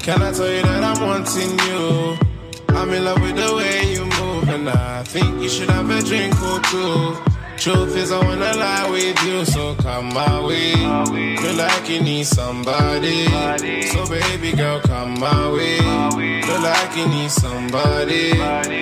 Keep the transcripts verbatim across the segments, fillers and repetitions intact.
Can I tell you that I'm wanting you? I'm in love with the way you move, and I think you should have a drink or two. Truth is, I wanna lie with you, so come my way. Feel like you need somebody, so baby girl, come my way. Feel like you need somebody.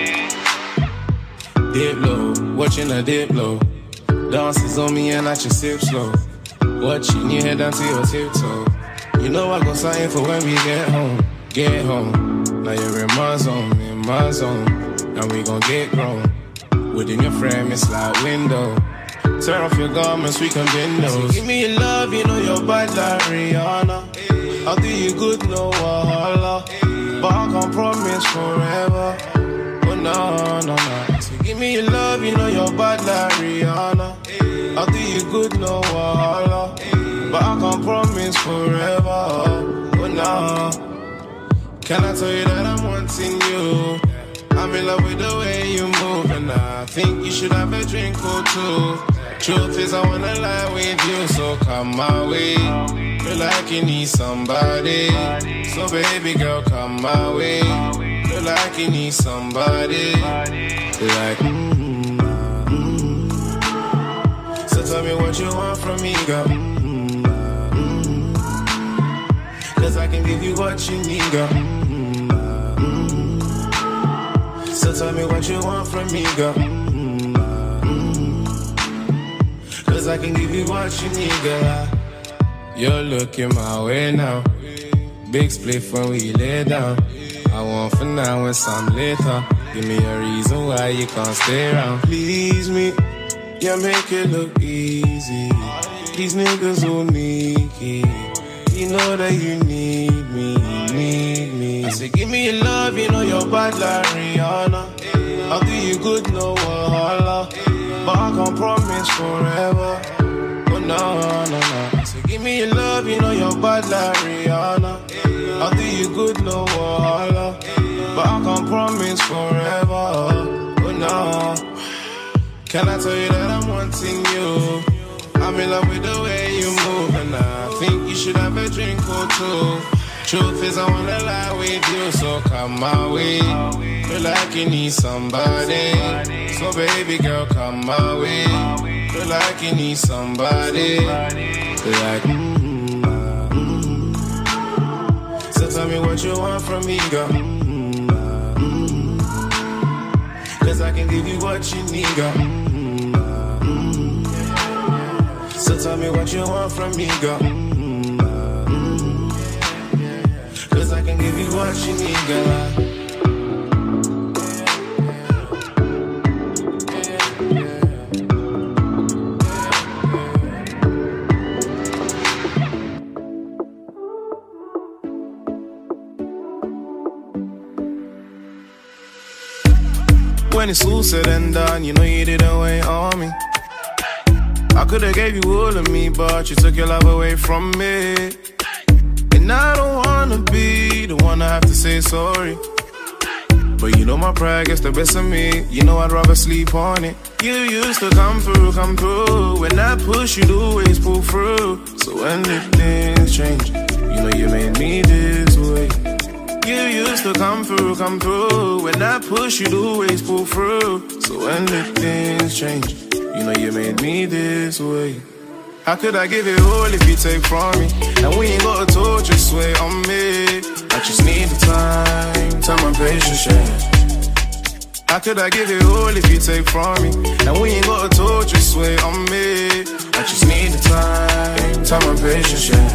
Dip low, watching a dip low. Dances on me and I just sip slow. Watching you head down to your tiptoe. You know I got something for when we get home. Get home. Now you're in my zone, in my zone. And we gon' get grown. Within your frame, it's like window. Turn off your garments, we can bend those. So give me your love, you know you're bad like Rihanna. I'll do you good, no wahala. But I can't promise forever. Oh no, no, no. So give me your love, you know you're bad like Rihanna. I'll do you good, no wahala. But I can't promise forever. Oh no. Can I tell you that I'm wanting you? I'm in love with the way you move, and I think you should have a drink or two. Truth is, I wanna lie with you, so come my way. Feel like you need somebody, so baby girl, come my way. Feel like you need somebody, like mm-hmm, mm-hmm. So tell me what you want from me, girl. Mm-hmm, mm-hmm. Cause I can give you what you need, girl. So tell me what you want from me, girl. Mm-hmm. Cause I can give you what you need, girl. You're looking my way now. Big split when we lay down. I want for now and some later. Give me a reason why you can't stay around. Please me, yeah, make it look easy. These niggas will need it. You know that you need me, need me. I say give me your love, you know you're bad like Rihanna. I'll do you good, no wahala. But I can't promise forever. Oh no, no, no. I say give me your love, you know you're bad like Rihanna. I'll do you good, no wahala. But I can't promise forever. Oh no. Can I tell you that I'm wanting you? I'm in love with the way you move, and I think you should have a drink or two. Truth is, I wanna lie with you, so come my way. Feel like you need somebody, so baby girl, come my way. Feel like you need somebody, like mm-hmm, mm-hmm. So tell me what you want from me, girl. Mm-hmm, mm-hmm. Cause I can give you what you need, girl. So tell me what you want from me, girl. Mm-hmm. Cause I can give you what you need, girl. When it's all said and done, you know you didn't wait on me. I could've gave you all of me, but you took your love away from me. And I don't wanna be the one to have to say sorry. But you know my pride gets the best of me. You know I'd rather sleep on it. You used to come through, come through. When I push, you'd always pull through. So when did things change? You know you made me this way. You used to come through, come through. When I push, you'd always pull through. So when did things change? You know you made me this way. How could I give it all if you take from me? And we ain't got a torch, just wait on me. I just need the time, time and patience, yeah. How could I give it all if you take from me? And we ain't got a torch, just wait on me. I just need the time, time and patience, yeah.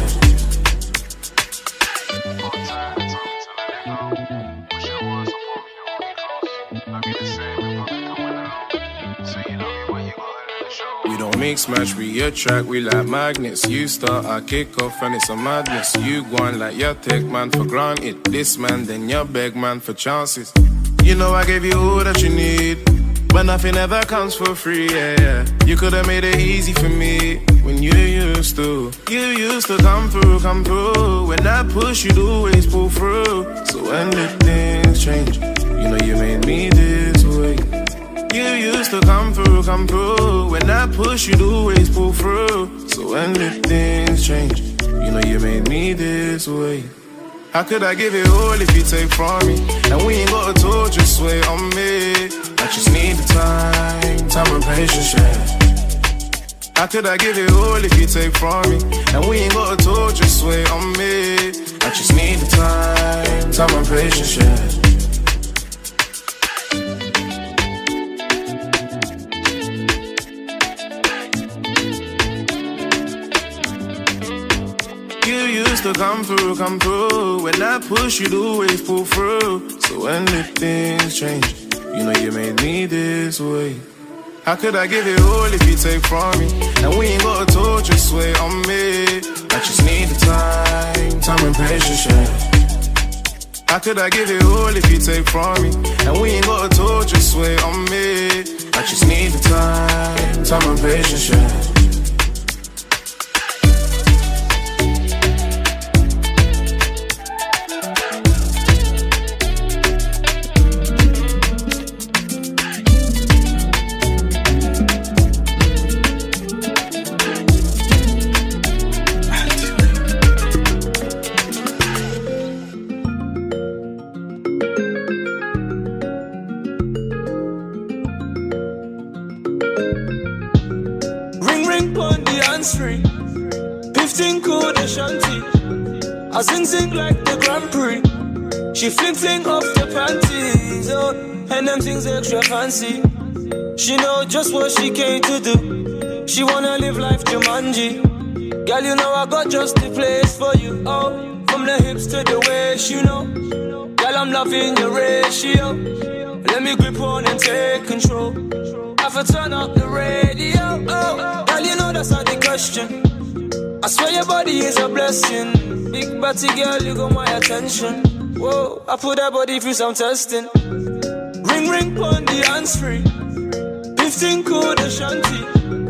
Mix match, we attract, we like magnets. You start, I kick off, and it's a madness. You go on like you take man for granted. This man, then you beg man for chances. You know I gave you all that you need, but nothing ever comes for free, yeah, yeah. You could've made it easy for me when you used to. You used to come through, come through. When I push, you'd always pull through. So when did things change? You know you made me this way. You used to come through, come through. When I push, you'd always pull through. So when did things change? You know you made me this way. How could I give it all if you take from me? And we ain't got a tour, just wait on me. I just need the time, time and patience, yeah. How could I give it all if you take from me? And we ain't got a tour, just wait on me. I just need the time, time and patience, yeah. You used to come through, come through. When I push, you'd always pull through. So when the things change, you know you made me this way. How could I give it all if you take from me? And we ain't got a tour, just wait on me. I just need the time, time and patience, yeah. How could I give it all if you take from me? And we ain't got a tour, just wait on me. I just need the time, time and patience, yeah. I sing sing like the Grand Prix. She fling fling off the panties, oh, and them things extra fancy. She know just what she came to do. She wanna live life Jumanji. Girl, you know I got just the place for you. Oh, from the hips to the waist, you know. Girl, I'm loving your ratio. Let me grip on and take control. I for turn up the radio. Oh, girl, you know that's not the question. I swear your body is a blessing. Big body girl, you got my attention. Whoa, I put that body through some testing. Ring ring pon the hands free. Fifteen code Ashanti.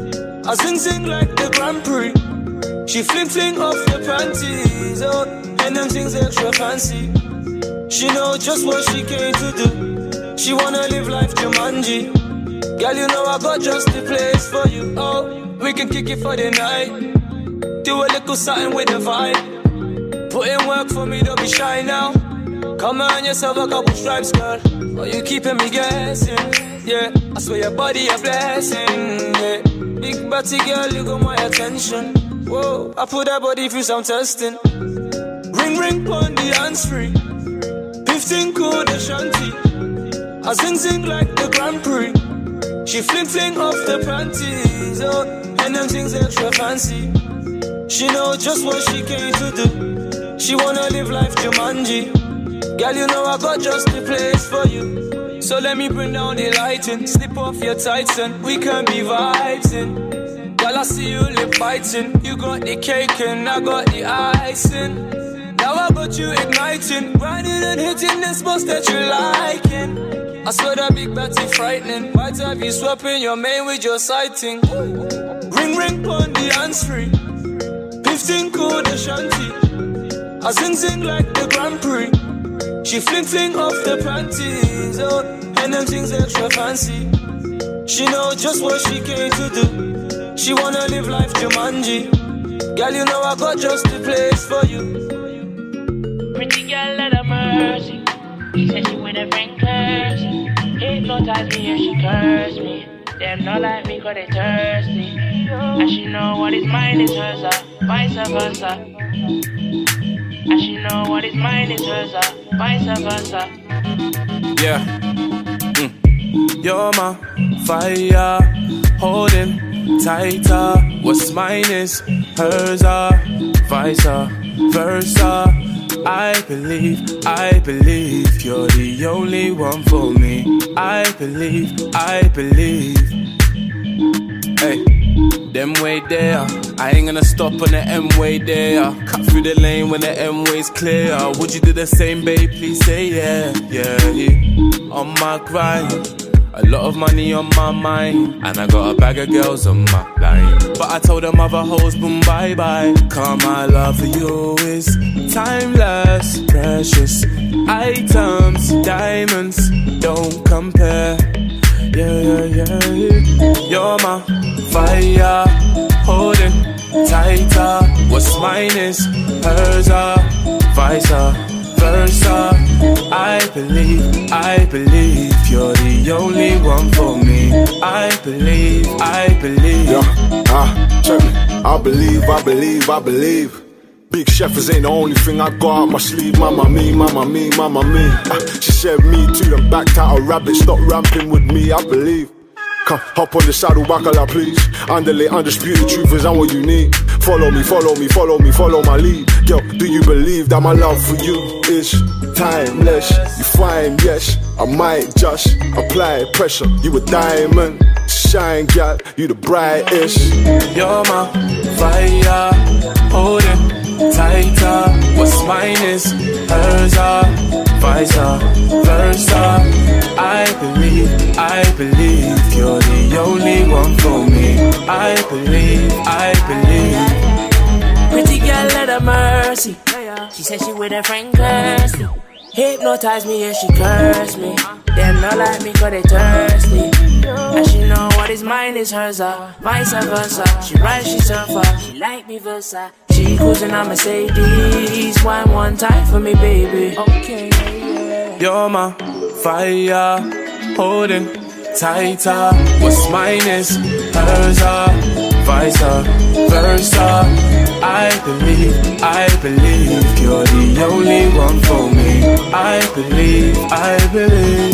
I sing sing like the Grand Prix. She fling fling off the panties, oh, and them things extra fancy. She know just what she came to do. She wanna live life Jumanji. Girl, you know I got just the place for you. Oh, we can kick it for the night. Do a little something with the vibe. Put in work for me, don't be shy now. Come on yourself a couple stripes, girl. Oh, you keeping me guessing, yeah. I swear your body a blessing, yeah. Big body girl, you got my attention. Whoa, I put that body through some testing. Ring ring pon the hands free. Fifteen code Ashanti. I sing sing like the Grand Prix. She fling fling off the panties, oh, and them things extra fancy. She know just what she came to do. She wanna live life Jumanji. Girl, you know I got just the place for you. So let me bring down the lighting. Slip off your tights and we can be vibing. Girl, I see you lip biting. You got the cake and I got the icing. Now I got you igniting. Grinding and hitting the spots that you liking. I swear that big batty frightening. Might have you swapping your main with your sighting. Ring ring pon the hands free. Fifteen code Ashanti. I sing sing like the Grand Prix. She fling fling off the panties, oh, and them things extra fancy. She know just what she came to do. She wanna live life Jumanji. Girl, you know I got just the place for you. Pretty girl, let her mercy. She said she with a friend curse. Hypnotize me and she curse me. Them not like me cause they thirsty. And she know what is mine is hers, uh, vice versa. And she know what is mine is hers, uh, vice versa. Yeah. Mm. You're my fire, holding tighter. What's mine is hers, uh, vice versa. I believe, I believe you're the only one for me. I believe, I believe. Hey, them way there. I ain't gonna stop on the M-way there. Cut through the lane when the M-way's clear. Would you do the same, babe? Please say yeah, yeah, yeah. On my grind. A lot of money on my mind, and I got a bag of girls on my line. But I told them other hoes, boom, bye bye. Cause my love for you is timeless, precious items, diamonds, don't compare. Yeah, yeah, yeah, yeah. You're my fire, holding tighter. What's mine is hers, uh, vice versa. versa. I believe, I believe you're the only one for me. I believe, I believe. Yeah, ah, check me. I believe, I believe, I believe. Big Chefers ain't the only thing I got up my sleeve. Mama me, mama me, mama me. Ah, she said me too, then backed out a rabbit. Stop ramping with me, I believe. Come, hop on the saddle, bacala please. Underlay, undisputed truth is I'm what you need. Follow me, follow me, follow me, follow my lead. Girl, do you believe that my love for you is timeless? You find, yes, I might just apply pressure. You a diamond, shine, girl, you the brightest. You're my fire, holding tighter. What's mine is hers, vice versa. I believe, I believe you're the only one for me. I believe, I believe. Pretty girl, let her mercy. She said she with her friend Kirsty. Hypnotize me and she curse me. Them not like me cause they thirsty. And she know what is mine is hers, uh, vice versa. She ride, she surfer, she like me versa. She cruising on Mercedes. Wine one time for me, baby. Okay, yeah. You're my fire, holding tighter. What's mine is hers, vice versa. I believe, I believe you're the only one for me. I believe, I believe.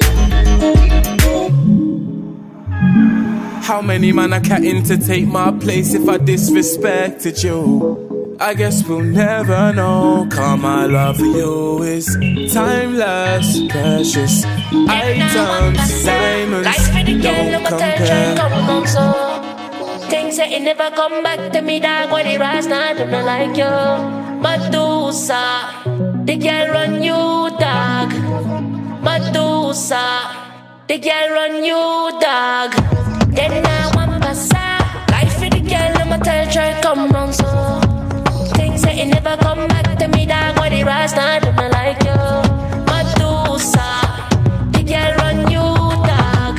How many man are catting to take my place if I disrespected you? I guess we'll never know. Cause my love for you is timeless, precious items, diamonds, don't compare. Things that it never come back to me, dog. When it rise, not do not like you. Medusa, the girl run you, dog. Medusa, the girl run you, dog. Then I want passa. Life for the girl, I'ma tell try come round so. Things that it never come back to me, dog. When it rise, not do not like you. Medusa, the girl run you, dog.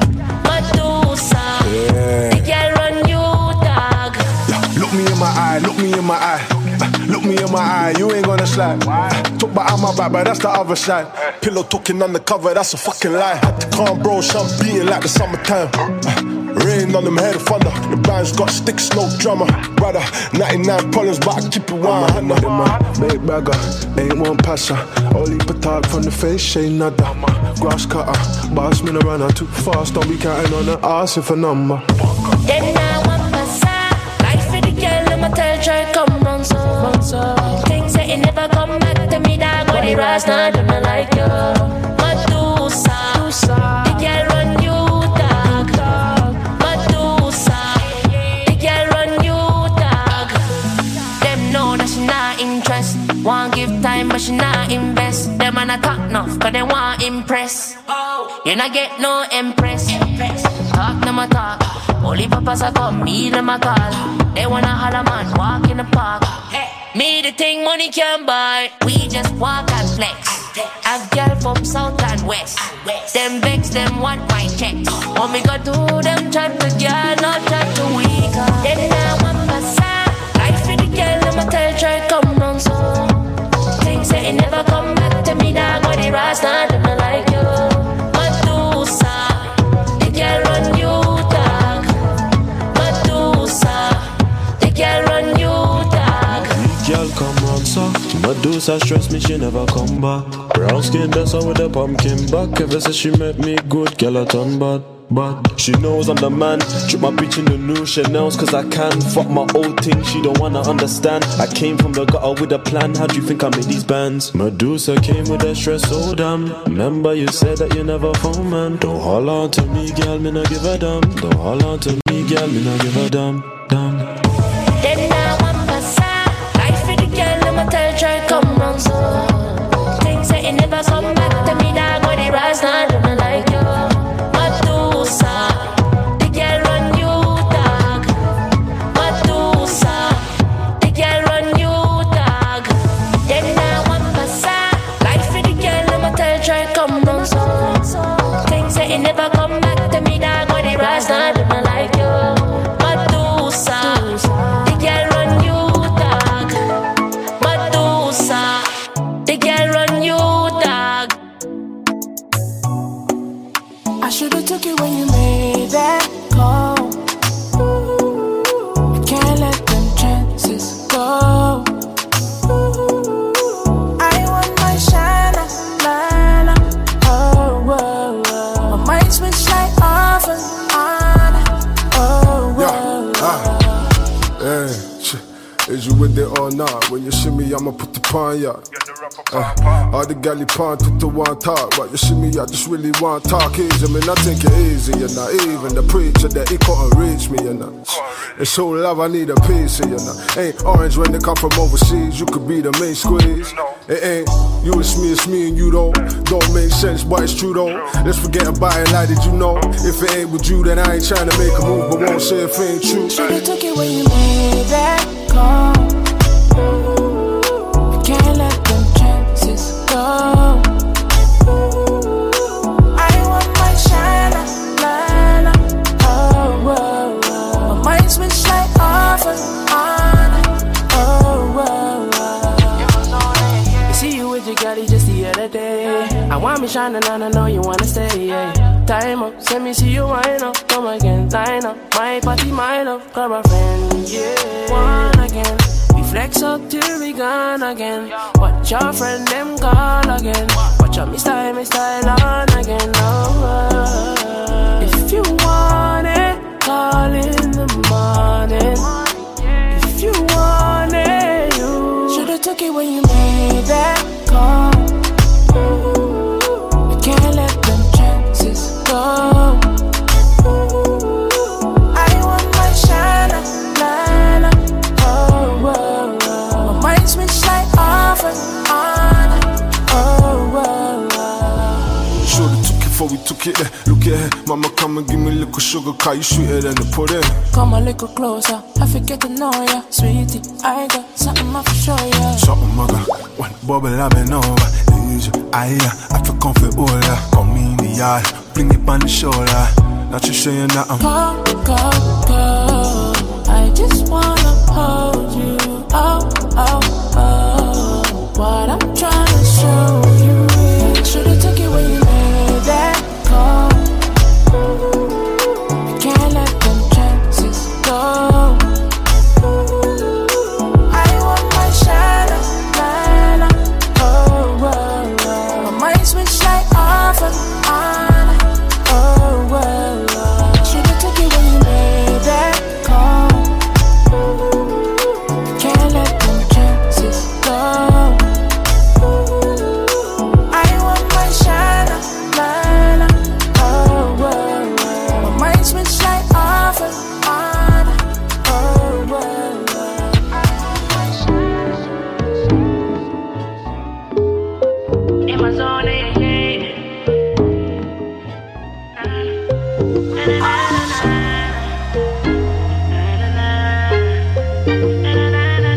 Medusa, yeah. The girl run you, dog. Yeah, look me in my eye, look me in my eye. Look me in my eye, you ain't gonna slide. Talk about my back, but that's the other side. Pillow talking undercover, that's a fucking lie. Had to calm bro, some beating like the summertime. Rain on them head of thunder. The band's got sticks, no drummer. Brother, ninety-nine problems, but I keep it one hundred. Big bagger, ain't one passer. Only petard from the face, ain't nada. Grass cutter, boss me around too fast. Don't be counting on the ass if a number. Then I want passa. Life for the girl, I'ma tell try come round so. Things that it never come back to me, dog. When it rise, not do not like you. Medusa, the girl run you, dog. Medusa, the girl run you, dog. Them know that she not interest. Want give time, but she not invest. Them man a talk enough, cause they want impress. You not get no impress. Talk no more talk. Only papas a come, me them a call. They wanna holler man, walk in the park. Me the thing money can buy. We just walk and flex. Have girl from south and west. Them vex, them want my checks. When we go to them chat to girl, not chat to weak. Then I want passa. Life for the girl, I'ma tell try come round so. Things that it never come back to me, dog. When it rise, not do not like you. Medusa, the girl run you, dog. Medusa, the girl run you, dog. Girl come round so Medusa stress me, she never come back. Brown skin dancer with a pumpkin back. Ever since she met me, good girl I turn bad. But she knows I'm the man. Drip my bitch in the new Chanel's cause I can. Fuck my old thing, she don't wanna understand. I came from the gutter with a plan. How do you think I made these bands? Medusa came with a stress, oh damn. Remember you said that you never found man. Don't holler on to me, girl, me not give a damn. Don't holler on to me, girl, me not give a damn. Damn. Then I want passa. Life for the girl, I'ma tell try come round so. Things that it never come back to me, dog. When it rise, not do not like you. Medusa, the girl run you, dog. Medusa, the girl run you, dog. Then I want passa. Life for the girl, I'ma tell try come round so. Things that it never come back to me, dog. When it rise, not do not like you. Medusa, the girl run you, dog. Medusa, the girl run Should've took it when you made that call. Can't let them chances go. I want my shine, shine, oh, whoa, whoa. My mind switch like off and on, oh, whoa, yeah, ah, hey, is you with it or not? When you see me, I'ma put the pan, yeah. Uh, all the galley pan to the one talk, but you see me, I just really want talk easy. I mean, I think it easy, you know. Even the preacher that he couldn't reach me, you know. It's so love, I need a piece, you know. Ain't orange when they come from overseas. You could be the main squeeze. It ain't you, it's me, it's me and you though. Don't make sense, but it's true though. Let's forget about it, like did you know? If it ain't with you, then I ain't trying to make a move, but won't say if it ain't true. Should've took it when you made that call. Can't let them chances go. I want my shine, shine, oh, whoa, whoa. My mind switch like off and on, oh, whoa, whoa. You see you with your girlie just the other day. I want me shining and I know you wanna stay, yeah. Time up, send me see you wind up. Come again, line up, my party, my love. Grab a friend, yeah. One again. Flex up till we gone again. Watch your friend them call again. Watch out me style, me style on again. Oh, if you want it, call in the morning. If you want it, you should've took it when you made that call. You can't let them chances go. I want my shine, shine, oh, whoa. My mind switch like off and on, oh, whoa, whoa. Should've took it before we took it there. Look at her, mama come and give me a little sugar, cause you sweeter than the pudding. Come a little closer, I forget to know ya. Sweetie, I got something I for show ya. Something I got, one bubble I've been over. Easy, I I feel comfortable. Come in the yard, bring it on the shoulder. Not you saying that I'm go, go, go. I just wanna hold you, oh, oh, oh. What I'm trying to show you, should've took it when you made that call. You can't let them chances go. I want my shine, shine, oh, whoa, whoa. My mind switch like off and on, oh, whoa, whoa. Should've took it when you made that call. Can't let them chances go. I want my shine, shine, oh, whoa, whoa. My mind switch like off and on, oh, whoa, whoa. In my zone, yeah, yeah. Na, na, na, na, na, na, na,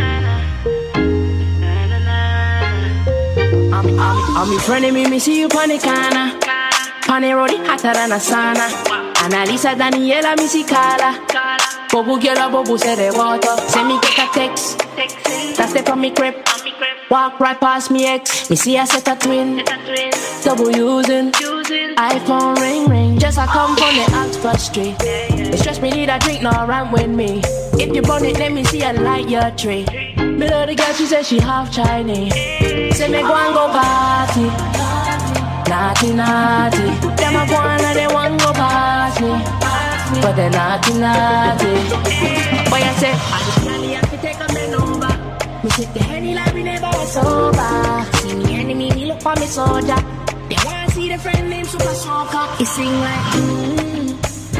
na, na. I'm, I'm, I'm in front of me, me see you on the corner. On the road, hotter than a sauna. Annalisa, Daniela, me see Carla. Bobo girl, Bobo say the water. Send me get a text. That step on me crib. Walk right past me ex. Me see I set a twin. Double using. iPhone ring ring. Just I come from the Oxford Street. It stress me need a drink, no run with me. If you burn it, let me see a light your tree. Me love the girl, she said she half Chinese. Say me go and go party. Naughty, naughty. Them a go and they want go past me. But they naughty, naughty. Boy, I say, I just really have to take a man over. Me sit the henny like we never was sober. See me enemy, me look for me soldier. They wanna see the friend named Super Smoker. He sing like, mmm.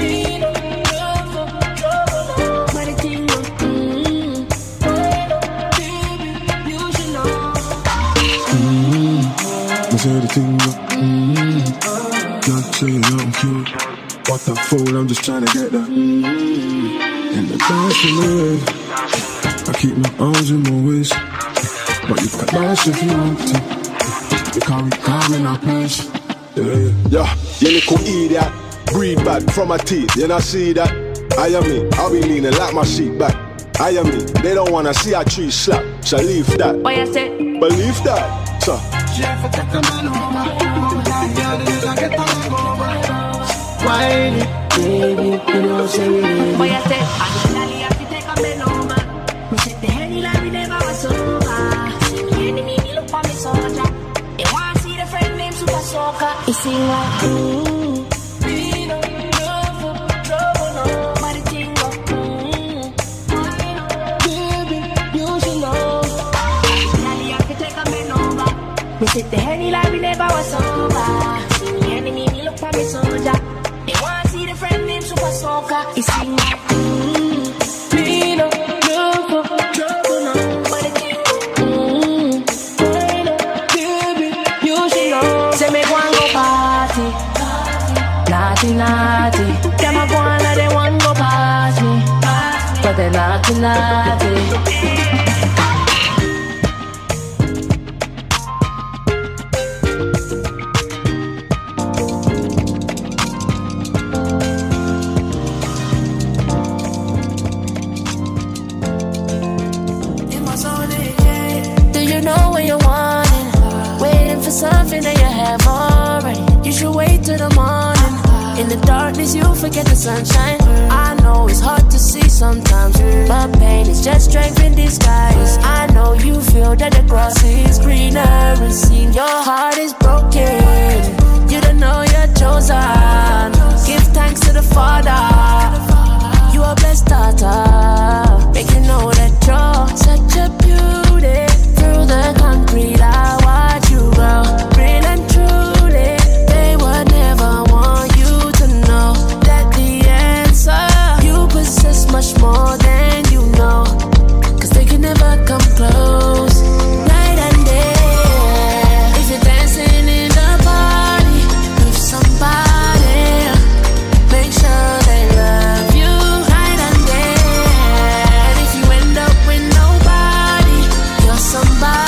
But the thing goes, mmm. Baby, you should know. Mmm. I say the thing go, mmm. Not saying I'm cute. What the fool, I'm just trying to get that mmm. In the dance for me. I keep my arms in my waist. But you can dance if you want to. You can't be calm in our place. Yeah, yeah, you little idiot. Breathe bad from my teeth, you not see that? I am me, I'll be leaning like my seat back. I am me, they don't wanna see a tree slap. So leave that. What you say? Believe that, so. whiny, baby, you know say we need. Boy, I said, I'm Lally, have to take a bend over. Me said the Henny like we never was over. The enemy, me look for me soldier. They want to see the friend named Super Soaker. He sing like, mm, we don't love for trouble, no. But the thing go, mm, baby, you should know. Lally, have to take a bend over. Me said the Henny like we never was over. The enemy, me look for me soldier. They want to see the friend named Super Soaker. He sing like, mm, we don't love for trouble, no. But the thing go, mm, baby, you should know. Say me go and go party, naughty, naughty. Them a go and let them one go party, but they naughty, naughty. Something that you have already. You should wait till the morning. In the darkness you forget the sunshine. I know it's hard to see sometimes, but pain is just strength in disguise. I know you feel that the grass is greener and seen your heart is broken. You don't know you're chosen. Give thanks to the Father. You are blessed daughter. Make you know that you're such a beauty. Through the concrete I watch you grow. Real and truly, they would never want you to know that the answer, you possess much more than you know. Cause they can never come close. Night and day, if you're dancing in the party with somebody, make sure they love you night and day. And if you end up with nobody, you're somebody.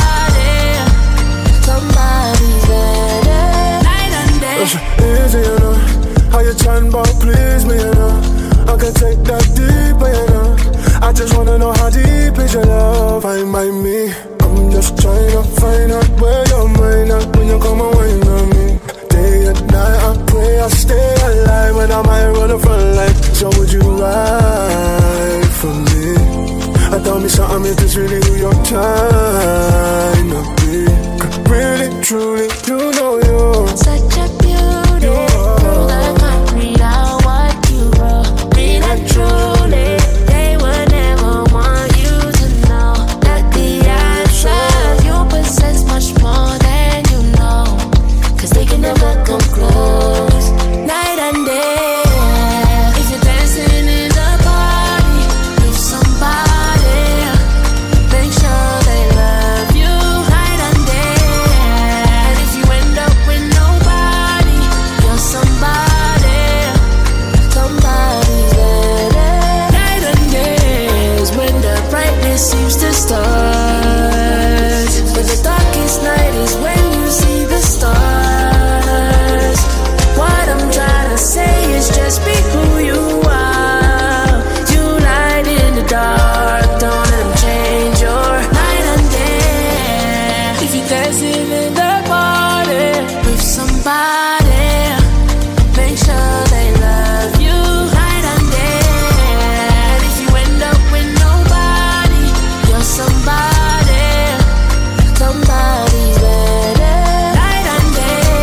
Easy, you know. How you trying about please me, you know. I can take that deeper, you know. I just wanna know how deep is your love. Find by me. I'm just trying to find out where your mind at when you come and wine on me. Day and night I pray I stay alive when I might run the front line. So would you ride for me? I tell me something if it's really who you're trying to be. Cause really, truly, you know you're such a beauty. Through the concrete, I watch you grow. Real and truly, they would never want you to know that the answer, you possess much more than you know. Cause they can never come close. Night and day, if you're dancing in the party with somebody, make sure they love you night and day. And if you end up with nobody, you're somebody, somebody's better. Night and days when the brightness seems to start, but the darkest night is when you see the stars. What I'm trying to say is just be who you are. You light in the dark, don't let them change your night and day. If you're dancing in the party with somebody, make sure they love you night and day. And if you end up with nobody, you're somebody, somebody's better. Night and day.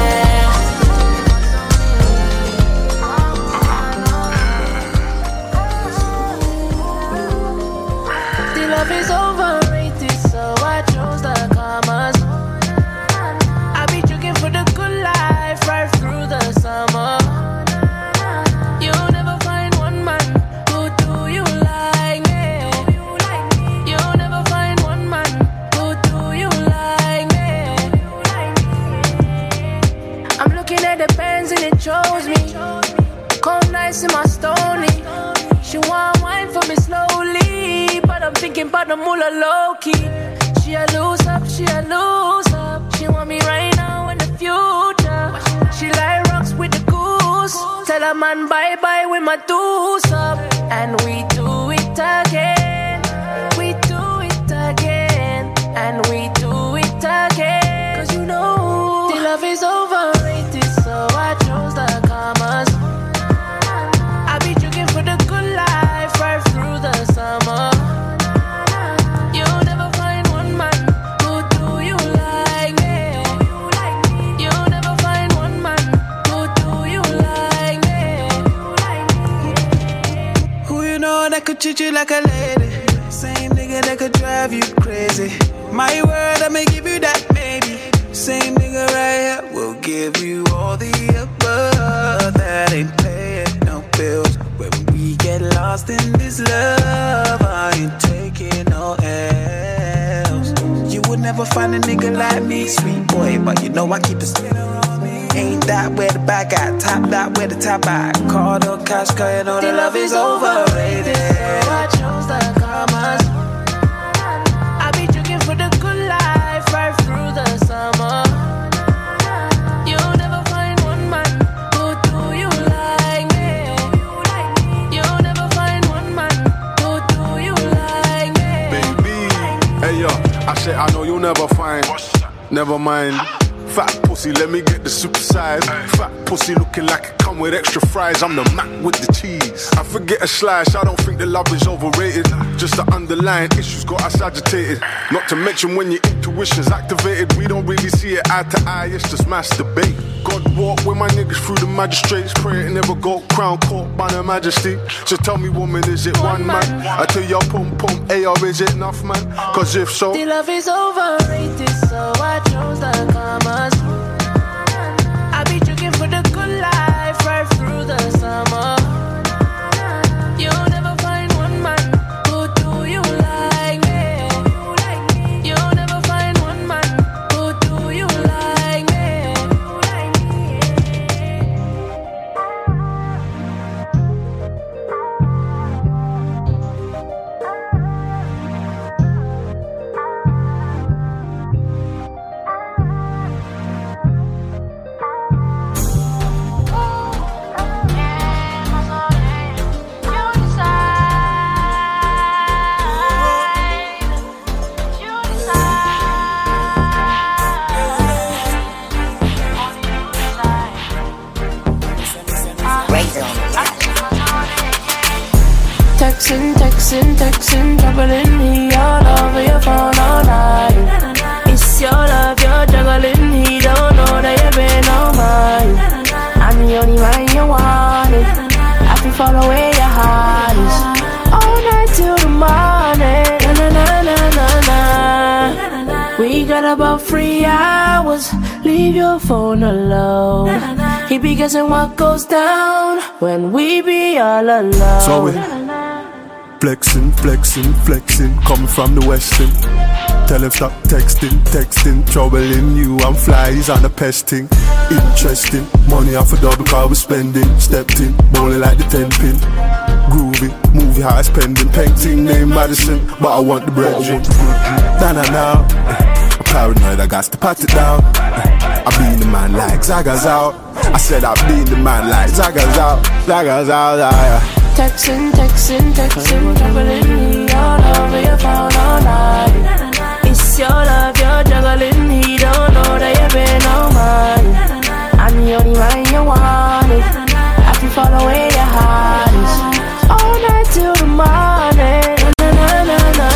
The love is overrated, so I chose the commas. I be looking for the good life right through the summer. You'll never find one man who do you like me. You'll never find one man who do you like me. I'm looking at the pens and it shows me cold nights in my stony. She want wine for me slowly, but I'm thinking about the moolah low key. She a lose up, she a lose up. She want me right now in the future. She like rocks with the goose. Tell a man bye bye with my deuce up. And we do it again. We do it again. And we do it again. Cause you know the love is overrated, so I chose the commas. that could treat you like a lady. Same nigga that could drive you crazy. My word, I'ma give you that, baby. Same nigga right here will give you all the above. That ain't paying no bills. When we get lost in this love, I ain't taking no L's. You would never find a nigga like me, sweet boy, but you know I keep a spinner on me. Ain't that where the back at, top that where the top at. Card or cash, cause you know the love is overrated. So I chose the commas. I be drinking for the good life right through the summer. You'll never find one man who do you like me. You'll never find one man who do you like me. Baby, hey yo, I said I know you'll never find. Never mind. Fat pussy, let me get the super size. Fat pussy looking like it come with extra fries. I'm the Mac with the cheese. I forget a slice, I don't think the love is overrated. Just the underlying issues got us agitated. Not to mention when your intuition's activated, we don't really see it eye to eye, it's just masturbate. God walk with my niggas through the magistrates. Pray it never go crown court by the majesty. So tell me woman, is it one man? I tell your pum pum, hey or is it enough man? Cause if so, the love is overrated, so I chose the commas. I be drinking for the good life right through the summer. You'll never find one man who do you like me. You'll never find one man who do you like me. Texting, texting, texting, juggling he all over your phone all night. It's your love, you're juggling, he don't know that you've been on mine. I'm the only man you wanted. I feel follow where your heart is. All night till the morning. Na na na na na na. We got about three hours. Leave your phone alone. He be guessing what goes down when we be all alone. So we flexing, flexing, flexing, coming from the western. Tell him stop texting, texting, troubling you. I'm fly, he's on the pesting. Interesting, money off a double car we're spending. Stepped in, bowling like the ten pin. Groovy, movie high spending. Painting name Madison, but I want the bread. Nah nah nah, I'm paranoid, I got to pat it down. I be the man like Zaga's out. I said I be the man like Zaga's out. Zaga's out, yeah. Texting, texting, texting, juggling me all over your phone all night. It's your love, you're juggling, he don't know that you've been on mine. I'm the only man you wanted. I can follow where your heart is. All night till the morning. Na na na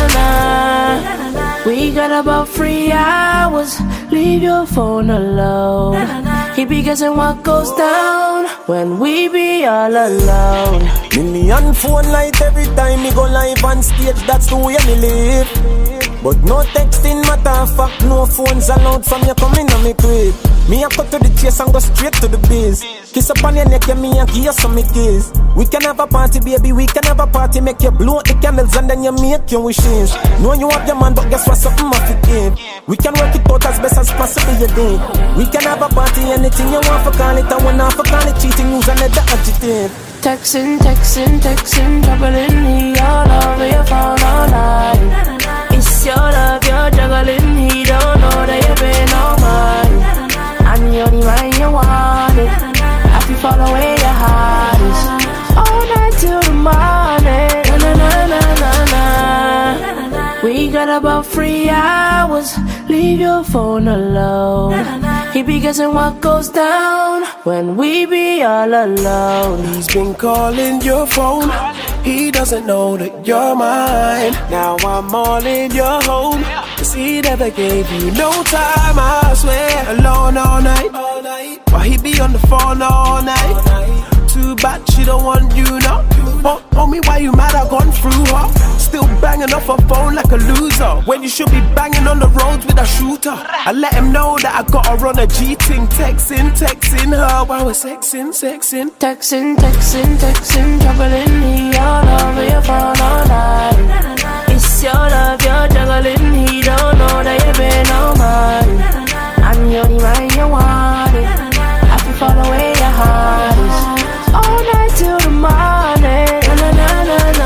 na na. We got about three hours. Leave your phone alone. He be guessing what goes down when we be all alone. Million phone light every time me go live on stage, that's the way me live. But no texting matter of fact, no phones allowed from you coming on me crib. Me a cut to the chase and go straight to the biz. Kiss up on your neck, yeah, me and give you some kiss. We can have a party, baby, we can have a party. Make you blow out the candles and then you make your wishes. Know you have your man, but guess what, something must be give. We can work it out as best as possible, you think. We can have a party, anything you want for call it. And when not for call it, cheating, use another adjective. Texting, texting, texting, juggling he all over your phone all night. It's your love, you're juggling, he don't know that you've been on mine. I'm the only man you wanted. I feel follow where your heart is. All night till the morning. Na na na na na. We got about three hours. Leave your phone alone. He be guessing what goes down when we be all alone. He's been calling your phone. He doesn't know that you're mine. Now I'm all in your home. Cause he never gave you no time, I swear. Alone all night. While he be on the phone all night. Too bad she don't want you now. Want, want me why you mad I gone through her. Still banging off her phone like a loser, when you should be banging on the roads with a shooter. I let him know that I got her on a G-ting. Texting, texting her while we're sexing, sexing. Texting, texting, texting, juggling me all over your phone all night. It's your love, you're juggling. He don't know that you've been on mine. I'm the only man you wanted. I can follow where your heart is. All night till the morning. Na na na na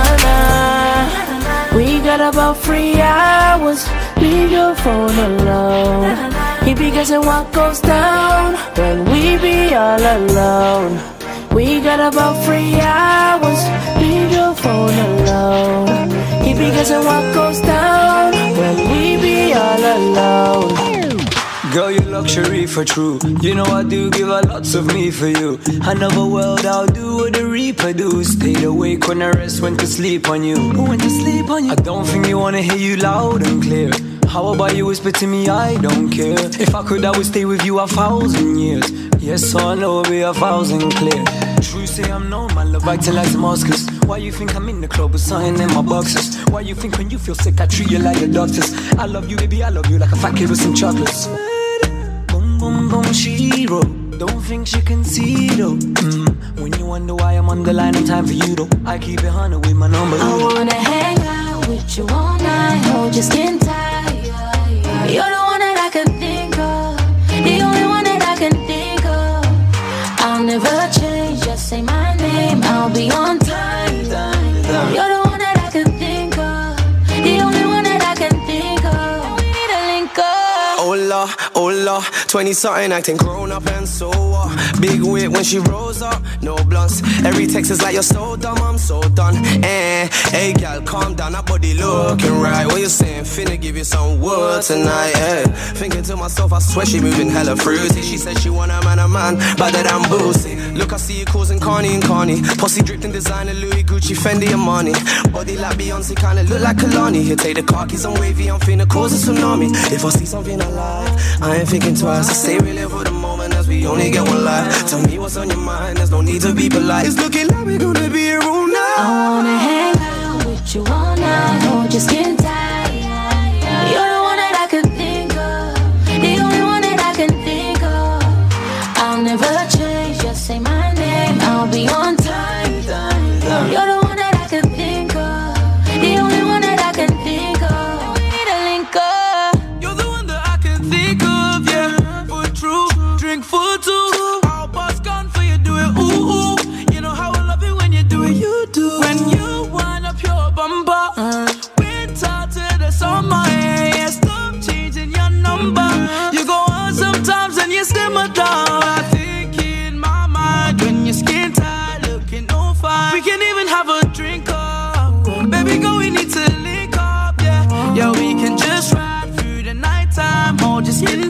na. We got about three hours. Leave your phone alone. He be guessing what goes down when we be all alone. We got about three hours. Leave your phone alone. He be guessing what goes down when we be all alone. Girl, you're luxury for true. You know I do give a lots of me for you. Another world I'll do what the reaper do. Stayed awake when the rest went to sleep on you. Who went to sleep on you? I don't think you wanna hear you loud and clear. How about you whisper to me, I don't care. If I could, I would stay with you a thousand years. Yes, so I know it'll be a thousand clear. True say I'm known, my love acting like Damascus. Why you think I'm in the club with something in my boxes? Why you think when you feel sick I treat you like the doctors? I love you, baby, I love you like a fat kid with some chocolates. Boom, boom, boom, she wrote. Don't think she can see though. Mm. When you wonder why I'm on the line, in time for you though. I keep it hundred with my number. I wanna hang out with you all night, hold your skin tight. You're the one that I can think of, the only one that I can think of. I'll never change, just say my name, I'll be on time. You're the one that I can think of, the only one that I can think of. We need a link up. Hola, hola, twenty-something acting grown up and so uh, big wit when she rose up, no blunts. Every text is like you're so dumb, I'm so done. Eh, hey gal, calm down, that body looking right. What you saying? Finna give you some wood tonight. Eh, thinking to myself, I swear she moving hella fruity. She said she want a man, a man, better than Boosie. Look, I see you causing Carney and Carney. Posse dripped in designer, Louis, Gucci, Fendi, and Money. Body like Beyonce, kinda look like Kalani. Here, take the car keys, I'm wavy, I'm finna cause a tsunami. If I see something I like, I ain't thinking twice. I stay real live for the moment as we only get one life. Tell me what's on your mind, there's no need to be polite. It's looking like we're gonna be here all night. I wanna hang out with you all night, hold your skin tight. You're the one that I can think of, the only one that I can think of. I'll never change, just say my name, I'll be on time. You're the one that I can think of, the only one that I can think of. We need a link up. You're the one that I can think of, yeah. For true, drink for two. Our boss gone for you, do it, ooh, ooh. You know how I love it when you do it, you do. When you wind up your bumper, uh, winter to the summer, yeah, yeah. Stop changing your number. You go on sometimes and you simmer down. I think in my mind when your skin tight, looking no fine. We can even have a drink up, baby girl, we need to link up, yeah. Yeah, we can just ride through the nighttime, hold your skin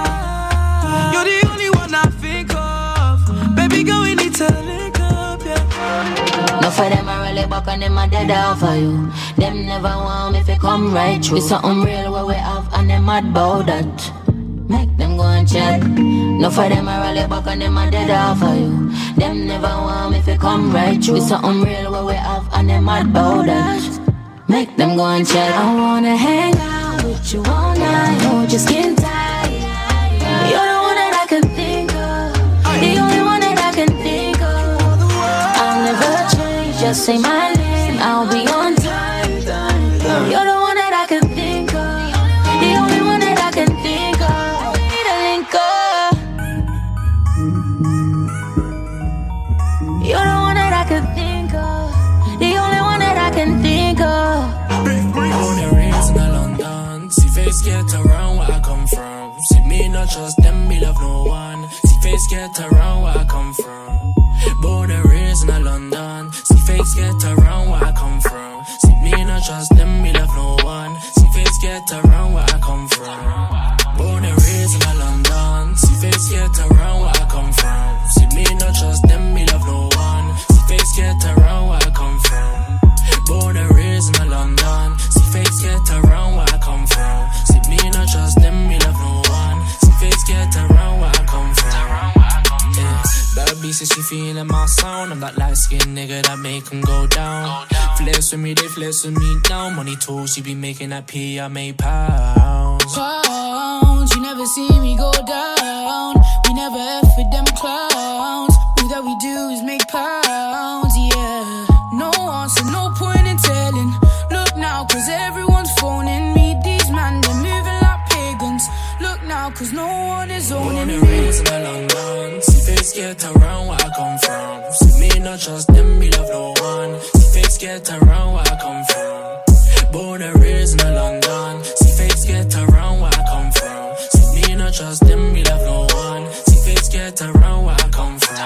tight. You're the only one I think of, baby girl, we need to link up, yeah. No for them I really back and them a dead off of you. Them never want me if come right through. It's something real where we have and them mad about that. Make them go and chat. No for them I really back and them a dead off of you. Them never want me if come right through. It's something real where we have and them mad about that. Make them go and chat. I wanna hang out with you all night, hold your skin tight. You're the one that I can think of, the only one that I can think of. I'll never change, just say my name, I'll be on time. You're the one that I can think of, the only one that I can think of. We need a link up. You're the one that I can think of, the only one that I can think of. Born and raised in London, see face get around where I come from. See me not trust them, me love no one. See face get around where I come from. Born and raised in London, see face get around where I come from. See me not trust them, me love no one. See face get around where I come from. Born and raised in London, see face get around where I come from. See me not trust them, me love no one. See face get around where I come from. Born and raised in London, see face get around where I come from. See me not trust them, me love no one. See face get around where I come from. Yeah, bad bitch says she feel feeling my sound. I'm that light-skinned nigga that make them go down. Flex with me, they flex with me now. Money tools, she be making that P, I make pounds. Pounds, you never see me go down. We never F with them clowns. All that we do is make pounds, yeah. No answer, no point in telling. Look now, cause everyone's phoning me. These man, they're moving like pagans. Look now, cause no one is owning me. Born and raised in London. See face get around where I come from. See me not trust them, me love no one. See face get around where I come from. Born and raised in London. See face get around where I come from. See me not trust them, me love no one. See face get around where I come from.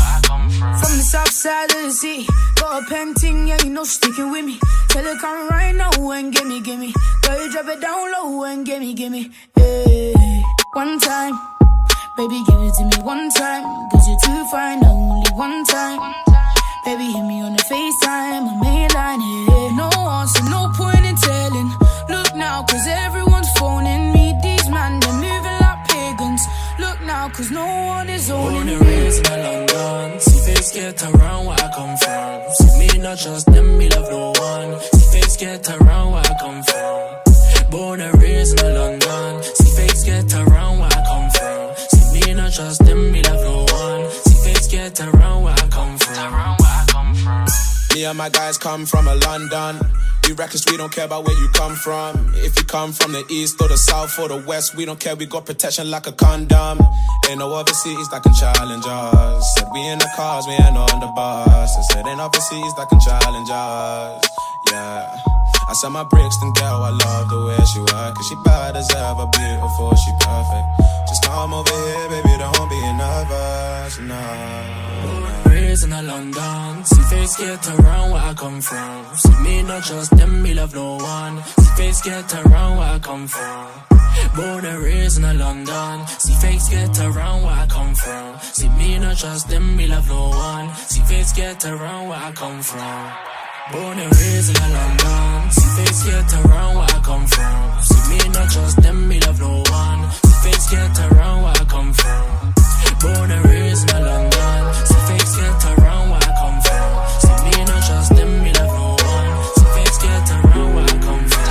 From the south side of the city, got a painting, yeah, you know, sticking with me. Tell her come right now and gimme, gimme. Girl, you drop it down low and gimme, gimme. Hey, one time, baby, give it to me one time. Cause you're too fine, only one time. Baby, hit me on the FaceTime, my main line, yeah. No answer, no point in telling. Look now, cause everyone's phoning me. These man, they're moving like pagans. Look now, cause no one is owning Born me. and raised in London. See face get around where I come from. See me not trust them, me love no one. See face get around where I come from. Born and raised in London. See face get around where I come from. See me not trust them, me love no one. See face get around where I come from. Around where I come from. Me and my guys come from a London. We reckless, we don't care about where you come from. If you come from the east or the south or the west, we don't care, we got protection like a condom. Ain't no other cities that can challenge us. Said we in the cars, we ain't on the bus. I said ain't other cities that can challenge us. Yeah. I said my Brixton girl, I love the way she work. Cause she bad as ever, beautiful, she perfect. Just come over here, baby, don't be nervous, no. Raised in London. See face get around where I come from. See me not trust them, me love no one. See face get around where I come from. Born and raised in London. See face get around where I come from. See me not trust them, me love no one. See face get around where I come from. Born and raised in London. See face get around where I come from. See me not trust them, me love no one. See face get around where I come from. Born and raised in London. See face get around where I come from. See me not trust them, me love no one. See face get around where I come from.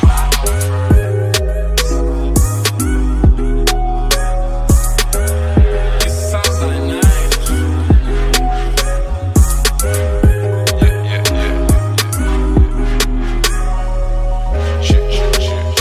This sounds like night. Yeah, yeah, yeah. Shit, shit, shit.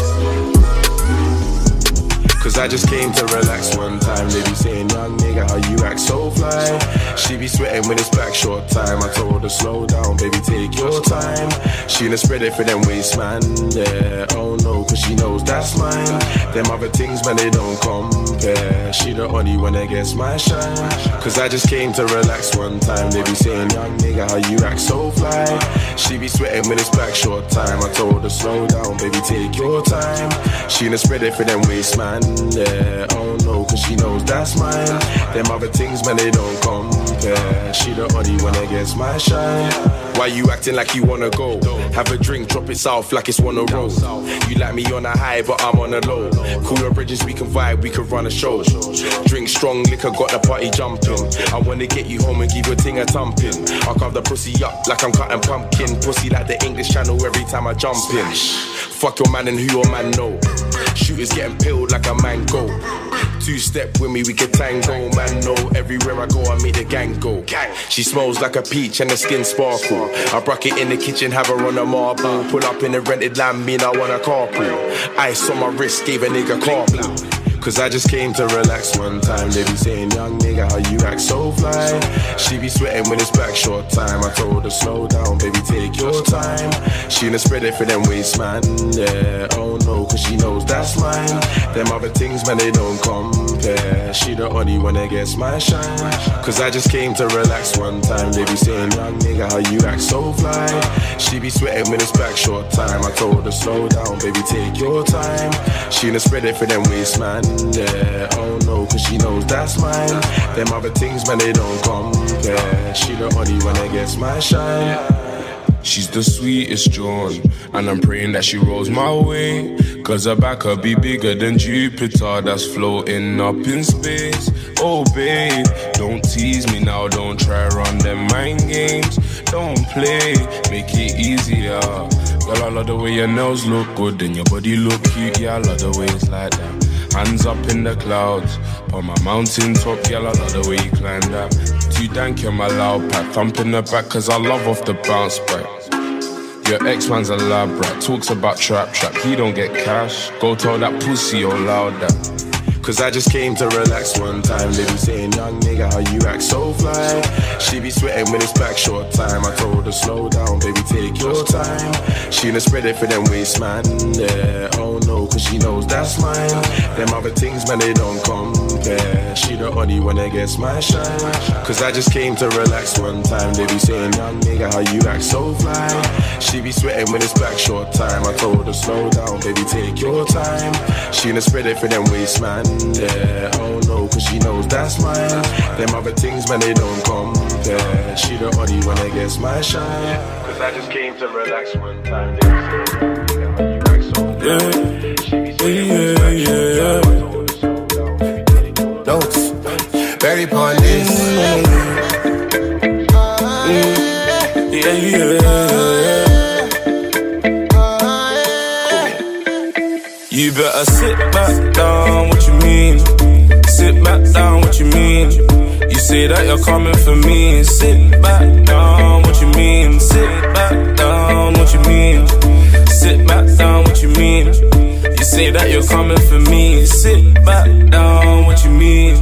Cause I just came to relax one time. They be saying, young nigga, how you act so fly. She be sweating when it's back short time. I told her, slow down, baby, take your time. She done spread it for them waist, man, yeah. Oh no, cause she knows that's mine. Them other things, man, they don't compare. She the only one that gets my shine. Cause I just came to relax one time. They be saying, young nigga, how you act so fly. She be sweating when it's back short time. I told her, slow down, baby, take your time. She done spread it for them waist, man, yeah. Oh no, cause she knows that's mine. Them other things, man, they don't compare. She the only one that gets my shine. Why you acting like you wanna go? Have a drink, drop it south like it's one a roll. You like me on a high, but I'm on a low. Cool your bridges, we can vibe, we can run a show. Drink strong liquor, got the party jumping. I wanna get you home and give your ting a thumping. I carve the pussy up like I'm cutting pumpkin. Pussy like the English Channel every time I jump in. Fuck your man and who your man know. Shooters getting peeled like a mango. Two step with me, we can tango. Man, no, everywhere I go, I make the gang go. She smells like a peach and the skin sparkle. I broke it in the kitchen, have her on a marble. Pull up in the rented land, mean I want a carpool. Ice on my wrist, gave a nigga carpool. Cause I just came to relax one time. They be saying, young nigga, how you act so fly. She be sweating when it's back short time. I told her, slow down, baby, take your time. She done spread it for them waist, man, yeah. Oh no, cause she knows that's mine. Them other things, man, they don't compare. She the only one that gets my shine. Cause I just came to relax one time. They be saying, young nigga, how you act so fly. She be sweating when it's back short time. I told her, slow down, baby, take your time. She done spread it for them waist, man, yeah. Oh no, cause she knows that's mine. Them other things, man, they don't compare. She the only one that gets my shine. She's the sweetest John, and I'm praying that she rolls my way. Cause her back could be bigger than Jupiter that's floating up in space. Oh babe, don't tease me now, don't try run them mind games. Don't play, make it easier. Girl, I love the way your nails look good and your body look cute. Yeah, I love the way it's like that. Hands up in the clouds, on my mountain top, girl, I love the way you climb that. Too dank, you're my loud pack, thump in the back, cause I love off the bounce back. Your ex-man's a lab rat, talks about trap trap, he don't get cash. Go tell that pussy all loud that. Cause I just came to relax one time. They be saying, young nigga, how you act so fly. She be sweating when it's back short time. I told her, slow down, baby, take your time. She done spread it for them waist, man, yeah. Oh no, cause she knows that's mine. Them other things, man, they don't compare. She the only one that gets my shine. Cause I just came to relax one time. They be saying, young nigga, how you act so fly. She be sweating when it's back short time. I told her, slow down, baby, take your time. She done spread it for them waist, man, yeah, oh no, cause she knows that's mine. Them other things, man, they don't compare. She the only one that gets my shine. Cause I just came to relax one time. They say, how you act so fly. She be saying, yeah, yeah, yeah. Notes, very pon this. Yeah, yeah. You better sit back down, what you mean? Sit back down, what you mean? You say that you're coming for me. Sit back down, what you mean? Sit back down, what you mean? Sit back down, what you mean? You say that you're coming for me. Sit back down, what you mean?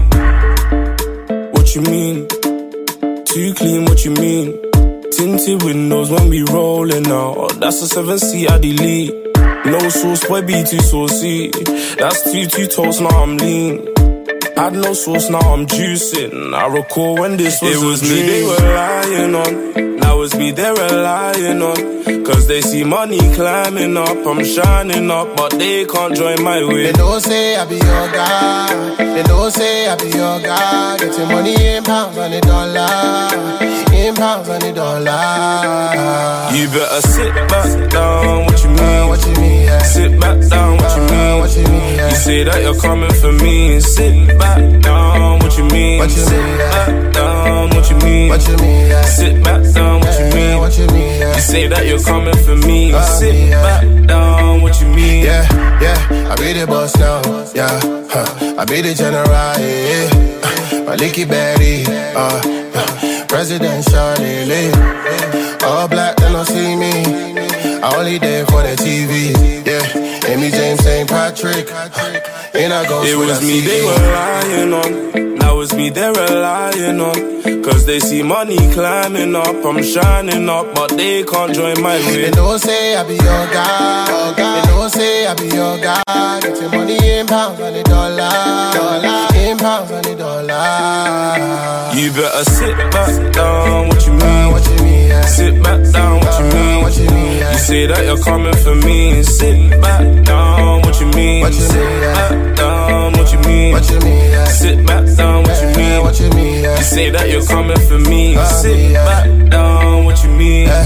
What you mean? Too clean, what you mean? Tinted windows when we rolling out. That's a seven seat I delete. No sauce, boy, be too saucy. That's two, two toast, now I'm lean. Had no sauce, now I'm juicing. I recall when this was It was me they were lying on. Now it's me they're relying on. Cause they see money climbing up. I'm shining up, but they can't join my way. They don't say I be your guy. They don't say I be your guy. Getting money in pounds and a dollar. In pounds and a dollar. You better sit back down, what you mean? Uh, what you mean, yeah. Sit back down, what you mean? Uh, what you mean, yeah. You say that you're coming for me. Sit back down, what you mean? What you Sit mean, yeah. back down, what you mean? What you mean, yeah. Sit back down, what you mean? What you mean, yeah. You say that you're coming for me. Uh, Sit yeah. back down, what you mean? Yeah, yeah, I be the boss now, yeah, huh. I be the general, yeah, uh, my licky berry, uh, uh, presidential, yeah. All black, they don't see me, I only there for the T V, yeah. Amy James, Saint Patrick, and I go. It was me they were lying on. Now it's me they're relying on. Cause they see money climbing up. I'm shining up, but they can't join my way. They don't say I be your guy. They don't say I be your guy. Getting money in pounds and a dollar. Dollar in pounds and a dollar. You better sit back down, what you mean? Uh, what you mean, yeah. Sit back down, what you mean? Uh, what you mean, yeah. You say that you're coming for me. Sit back down, what you mean? What you Sit mean, yeah. back down, what you mean? What you mean, yeah. Sit back down, what you mean? What you mean, yeah. You say that you're coming for me. Uh, Sit yeah. back down, what you mean? Yeah.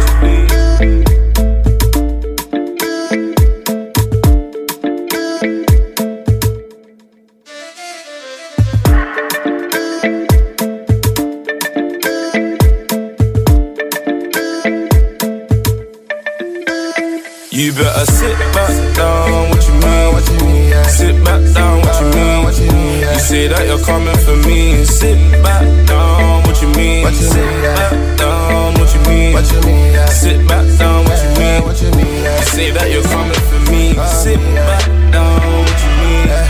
You better sit back down, what you mean? Uh, what you mean, yeah. Sit back down, what you mean? Uh, what you mean, yeah. You say that you're coming for me. Sit back down, what you mean? What you Sit mean, yeah. back down, what you mean? What you mean, yeah. Sit back down, what you mean? What you mean, yeah. You say that you're coming for me. Uh, Sit yeah. back down, what you mean? Yeah.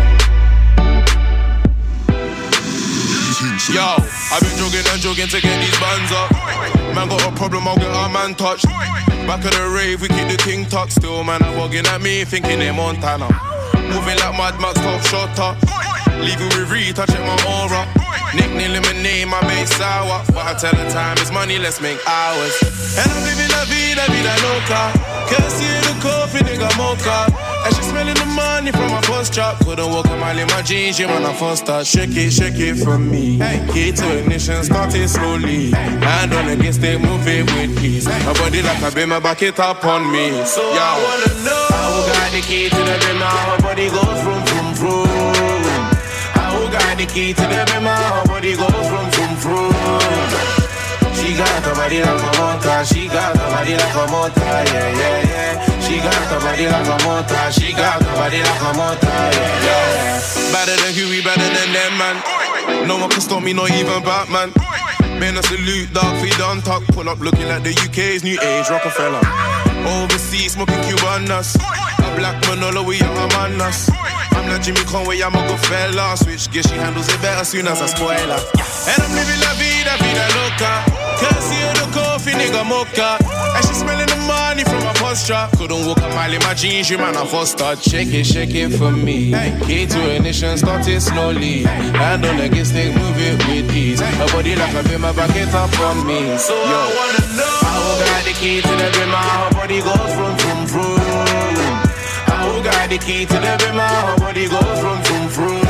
Yo, I've been jogging and jogging to get these bands up. Man got a problem, I'll get our man touched. Back of the rave, we keep the king tucked. Still, man, I'm bugging at me, thinking they're Montana. Moving like Mad Max, top shotter. Leaving with Reed, touching my aura. Nickname lemonade, my base sour. But I tell the time is money, let's make hours. And I'm living la vida, vida loca. Can't see the coffee, nigga, mocha. And she smelling the money from my first chop. Couldn't walk a mile in my jeans, yeah, man, I first start. Shake it, shake it from me. Hey, key to ignition, start it slowly. Hand on against it, move it with ease. My body like a beam, back it up on me. So yo, I wanna know how got the key to the beam, how her body goes from from from. How got the key to the beam, how her body goes from from from. She got the body like a motor, she got the body like a motor, yeah, yeah, yeah. She got the body like a motor, she got the body like a motor, yeah, yeah. Better than Huey, better than them, man. No one can stop me, not even Batman. Man, I salute, dog, feed on talk. Pull up looking like the U K's new age Rockefeller. Overseas, smoking Cubanas. A black Manolo, we are among us. I'm not Jimmy Conway, I'm a good fella. Switch gear, she handles it better soon as I spoil her. And I'm living la vida, vida loca. Courtesy of the coffee, nigga mocha. And she smelling the money from my posture. Couldn't walk a mile in my jeans, you man, I first start. Shake it, shake it for me. Key to ignition, start it slowly. Hand on the stick, move it with ease. Her body like a beam, back it up on me. So yo, I wanna know how got the key to the beam, her body goes from from from. How got the key to the beam, her body goes from from from.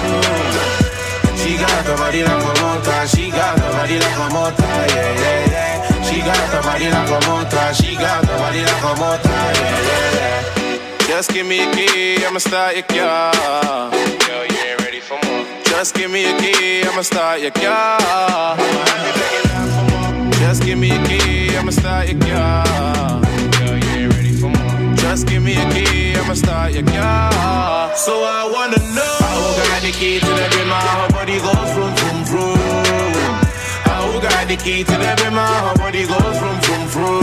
She got the body like a motor, she got the body like a motor, yeah, yeah, yeah. She got the body like a motor, she got the body like a motor, yeah, yeah, yeah. Just give me a key, I'ma start your car. Yo, you ain't ready for more. Just give me a key, I'ma start your car. I'ma have you begging out for more. Just give me a key, I'ma start your car. Yo, you ain't ready for more. Just give me a key, I'ma start your car. So I wanna know how got the key to the beam, her body goes from from from. How got the key to the beam, her body goes from from from.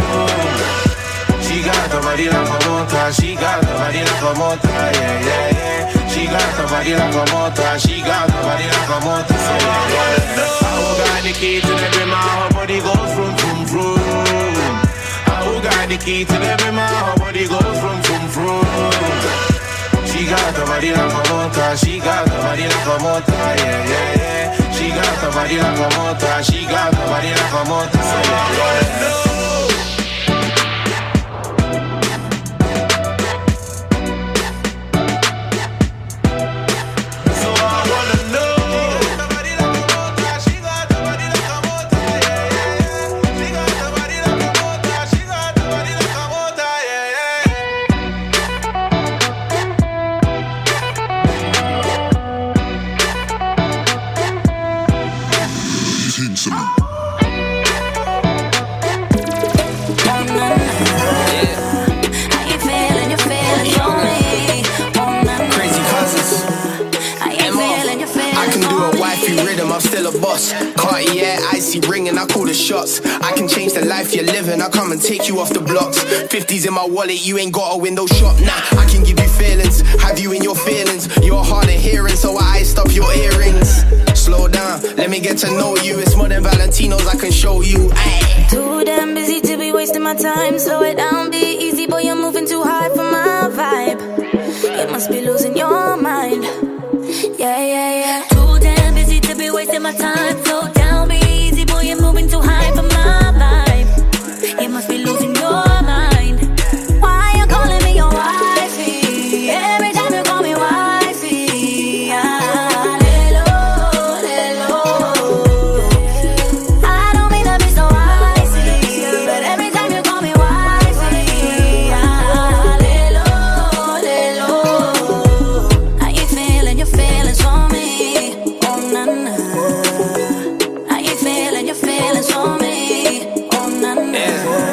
She got the body like a motor, she got the body like a motor, yeah, yeah, yeah. She got the body like a motor, she got the body like a motor. So I wanna know how got the key to the beam, her body goes from from from. How got the key to the beam, her body goes from from from. She got the body like a motor, she got the body like a motor, yeah, yeah, yeah. She got the body like a motor, she got the body like a motor, yeah, yeah, yeah. Cartier, icy ring and I call the shots. I can change the life you're living, I come and take you off the blocks. Fifties in my wallet, you ain't got a window shop. Nah, I can give you feelings, have you in your feelings. You're hard of hearing, so I iced up your earrings. Slow down, let me get to know you. It's more than Valentinos, I can show you. Ay. Too damn busy to be wasting my time. Slow it down, be easy, boy, you're moving too hard for my vibe. You must be losing your mind. Yeah, yeah, yeah. Too damn busy to be wasting my time. Slow down, be easy, boy, you're moving too high for my vibe. You must be losing your mind. Why you calling me your wifey? Every time you call me wifey, ah, hello, hello. I don't mean to be so icy, but every time you call me wifey, ah, hello, hello. How you feeling? Your feelings for me? Oh na na. How you feeling? Your feelings for me? Oh na na.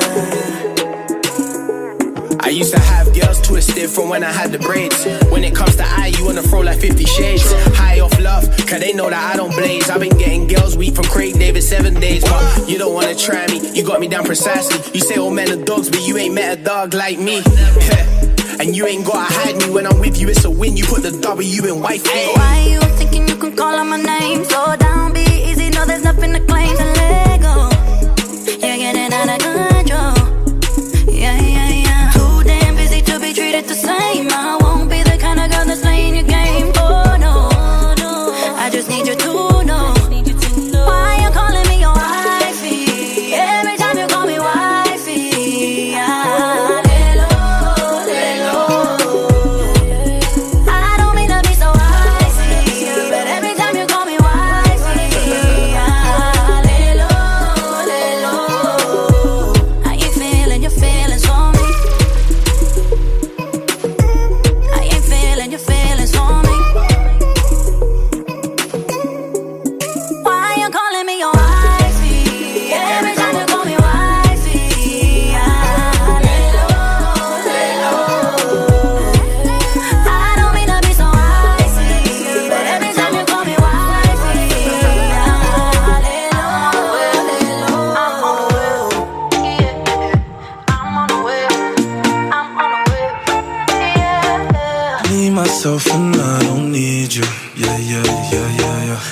I used to have girls twisted from when I had the braids. When it comes to eye, you wanna throw like fifty shades. High off love, cause they know that I don't blaze. I've been getting girls weak from Craig David seven days. But you don't wanna try me, you got me down precisely. You say all men are dogs, but you ain't met a dog like me. And you ain't gotta hide me, when I'm with you it's a win. You put the W in wifey. Why you thinking you can call on my name? Slow down, be easy, no there's nothing to claim. To let go, you're getting out of control. Yeah, yeah, yeah. Too damn busy to be treated the same. I won't be the kind of girl that's playing your game. Oh no, I just need you to know. Why you calling me your wifey? Every time you call me wifey, ah, hello, hello.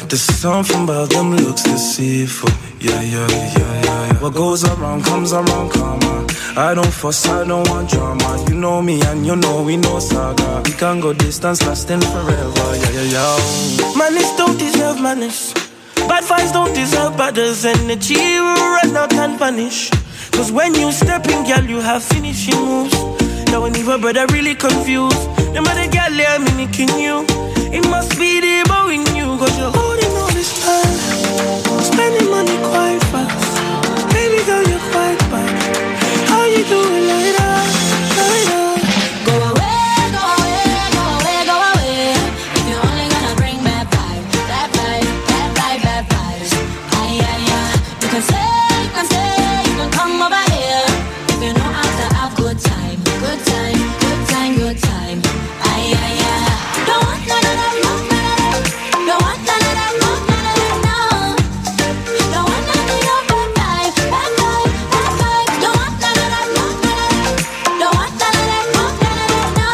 There's something about them looks deceitful. Yeah, yeah, yeah, yeah, yeah. What goes around comes around, come on. I don't fuss, I don't want drama. You know me and you know we know saga. We can go distance lasting forever. Yeah, yeah, yeah. Manners don't deserve manners. Bad vibes don't deserve batters. Energy run out and vanish. Cause when you step in, girl, you have finishing moves. Now when even brother really confused. No matter girl, yeah, I'm mimicking you. It must be the bow in you. Cause you're holding all this time. Spending money quite fast. Baby girl, you're quite bad. How you doing like that? Like that? Go away, go away, go away, go away. If you're only gonna bring bad vibes, bad vibes, bad vibes, bad vibes. Ay, ay, ay. You can stay, you can stay, you can come over here. If you know how to have good time, good time, good time, good time. Ay, ay, ay. Don't want none of that, no, none of that. Don't want none of that, no, none of that, no. Don't want none of your bad vibes, bad vibes, bad vibes. Don't want none of that, no, none of that. Don't want none of that, no, none of that, no.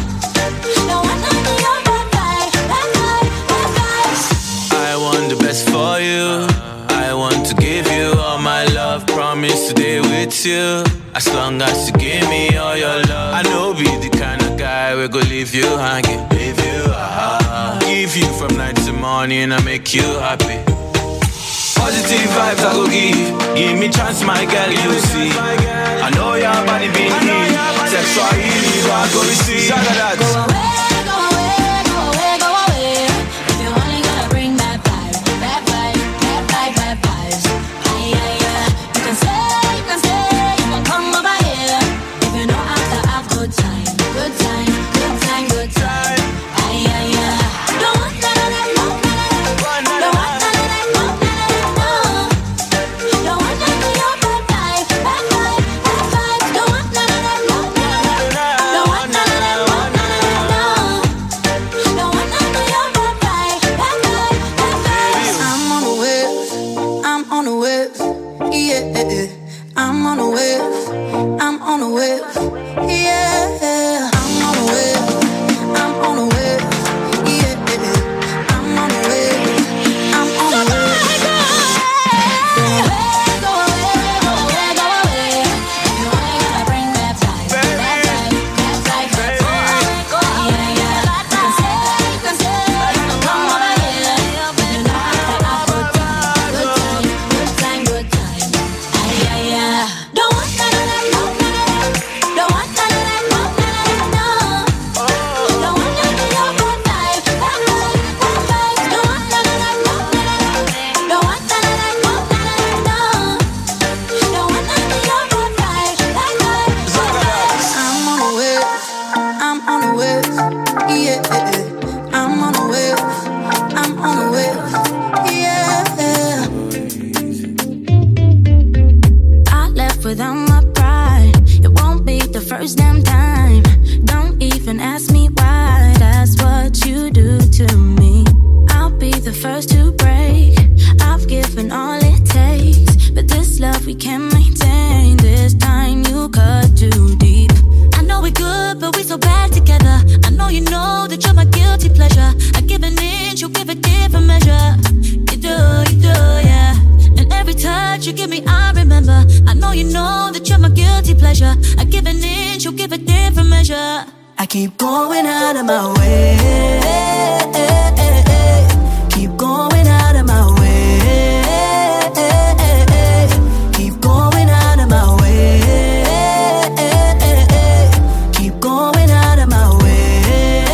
Don't want none of your bad vibes, bad vibes, bad vibes. I want the best for you. I want to give you all my love. Promise to stay with you as long as you give me all your love. I know be the kind of guy we go leave you hanging, leave you uh, give you from night to morning and make you happy. Positive vibes I go give. Give me chance, my girl, you see. I know your body been healed. Sexual healing, I go receive. Go away, go away, go away, go away. If you're only gonna bring bad vibes, bad vibes, bad vibes, bad vibes. Ay, ay, ay. You can stay, you can stay, you can come over here. If you know how to have good time, good time, good time, good time. Ay, ay, ay. Don't want none of that, no, none of that. Don't want none of that, no, none of that, no. Don't want none of your bad vibes, bad vibes, bad vibes. Don't want none of that, no, none of that. Don't want none of that, no, none of that, no. Don't want none of your bad vibes, bad vibes, bad vibes. I'm on a wave, I'm on a wave, yeah. I'm on a wave, I'm on a wave, yeah. I'm on a wave, I'm on a wave, yeah. I'm on a wave, I'm on a wave. Go away, go away, go away. You only gotta bring bad vibes, bad vibes, bad vibes, bad vibes. Yeah, yeah. You can stay, you can stay, you can come over here. You know how to have good time, good time, good time, good time. Ay, ay, ay. Don't want none of that, no, none of that. Don't want none of that, no, none of that, no. Don't want none of your bad vibes, bad vibes, bad vibes. Don't want none of that, no, none of that. Don't want none of that, no, none of that, no. Don't want none of your bad vibes, bad vibes, bad vibes. I'm on a wave, I'm on a wave, yeah. I'm on a wave, I'm on a wave, yeah. I left without my pride. It won't be the first damn time. Don't even ask me why. That's what you do to me. I'll be the first to break. I've given all it takes, but this love we can't maintain. This time you cut too deep. I know we're good, but we're so bad together. I know you know that you're my guilty pleasure. I give an inch, you give a different measure. You do, you do, yeah. And every touch you give me, I remember. I know you know that you're my guilty pleasure. I give an inch, you give a different measure. I keep going out of my way. Keep going out of my way. Keep going out of my way. Keep going out of my way.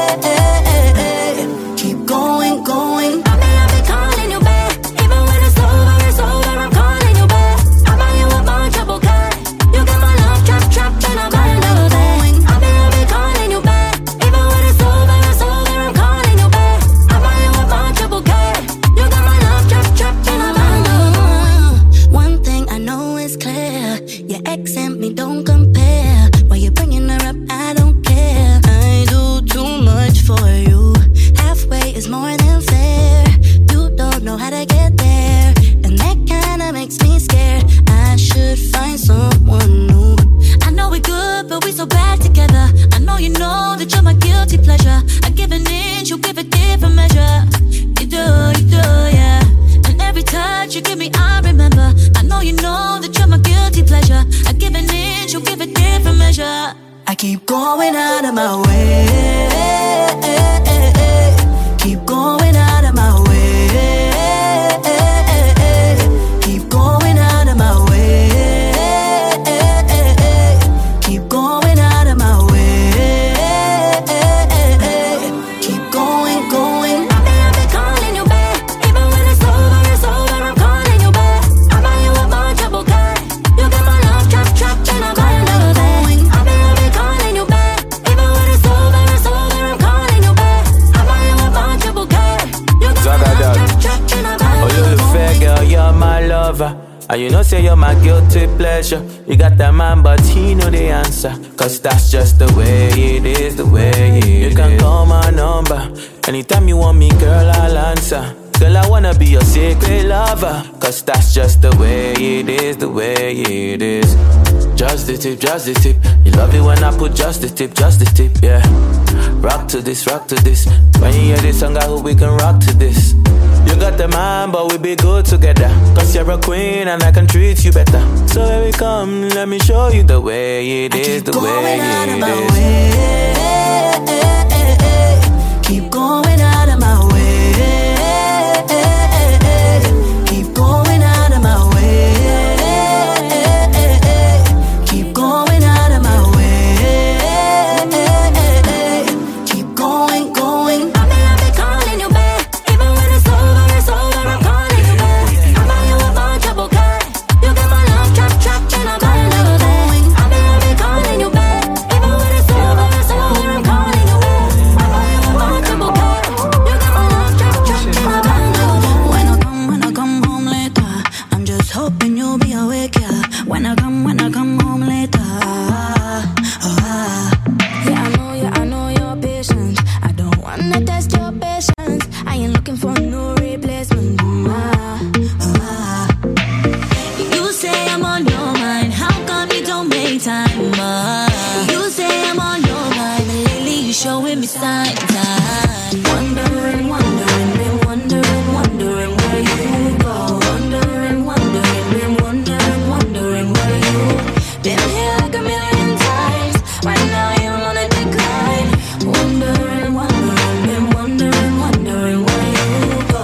Keep going, going. I may have been calling you back. Even when it's over, it's over, I'm calling you back. I buy you a bunch of bouquet. You got my love trapped, trapped in a bundle of going. I may have been calling you back. Even when it's over, it's over, I'm calling you back. I buy you a bunch of bouquet. You got my love trapped, trapped in a bundle. One thing I know is clear. Your ex and me don't compare. Why you bringing her up, I don't care. I do too much for you. Halfway is more than fair. You don't know how to get there, and that kinda makes me scared. I should find someone new. I know we're good, but we're so bad together. I know you know that you're my guilty pleasure. I give an inch, you give a different measure. You do, you do. guilty pleasure. I give an inch, you give a different measure. I keep going out of my way. Keep going out of my way. Keep going out of my way. Keep going out of my way. Keep going, going. I've been, I've been calling you back. Even when it's over, it's over, I'm calling you back. I buy you a bunch of bouquet. You get my love trapped, trapped, and I'm calling you back. I've been, I've been calling you back. Even when it's over, it's over, I'm calling you back. I buy you a bunch of bouquet. You get my love trapped, trapped, and I'm calling you back. Oh, you the fair girl, you're my lover. And you know say you're my guilty pleasure. You got that man but he know the answer. Cause that's just the way it is, the way it is. You can call my number. Anytime you want me, girl, I'll answer. Girl, I wanna be your secret lover. Cause that's just the way it is, the way it is. Just the tip, just the tip. You love it when I put just the tip, just the tip, yeah. Rock to this, rock to this. When you hear this song, I hope we can rock to this. You got the man, but we be good together. Cause you're a queen and I can treat you better. So here we come, let me show you the way it is, the way it is. Keep going out of my way. Keep going out of my way. Keep going out of my way. Keep going, going. I've been, I've been calling you back. Even when it's over, it's over, I'm calling you back. I buy you a bunch of bouquet. You get my love trapped, trapped, and I'm calling you back. I've been, I've been calling you back. Even when it's over, it's over, I'm calling you back. I buy you a bunch of bouquet. You get my love trapped, trapped, and I'm calling you back. When I come, when I come home later, I'm just hoping you'll be awake, yeah. When I come, when I come home later. Yeah, I know, yeah, I know you're patient. I don't wanna test your patience. I ain't looking for no replacement. Ah, ah. You say I'm on your mind. How come you don't make time? Ah. You say I'm on your mind, but lately you showing me signs. Ah. Wondering, wondering, been wondering, wondering where you go. Wondering, wondering, been wondering, wondering where you been here like a million times. Right now you're on a decline. Wondering, wondering, been wondering, wondering where you go.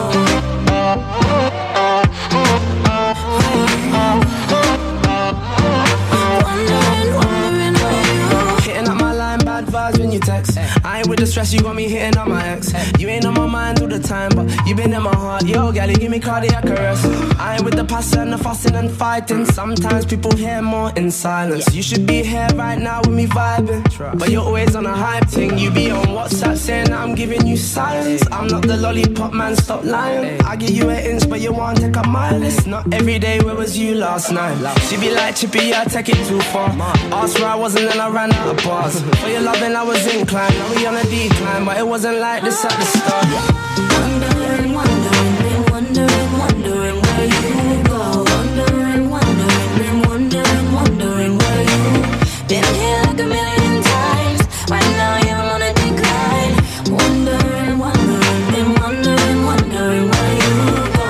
Wondering, wondering where you go. Hitting up my line, bad vibes when you text. I ain't with the stress, you got me hitting up my ex. You ain't on my mind all the time, but you been in my heart. Yo, gal, you give me cardiac arrest. I ain't with the passion and the fussing and fighting. Sometimes people hear more in silence. You should be here right now with me vibing, but you're always on a hype thing. You be on WhatsApp saying that I'm giving you silence. I'm not the lollipop man, stop lying. I give you an inch, but you want to take a mile. It's not every day, where was you last night? She be like, Chippy, I take it too far. Asked where I was and then I ran out of bars. For your loving, I was inclined. Now we on a decline, but it wasn't like this at the start. Wondering, wondering, been wondering, wondering where you go. Wondering, wondering, been wondering, wondering where you been here like a million times. Right now you're on a decline. Wondering, wondering, been wondering, wondering where you go.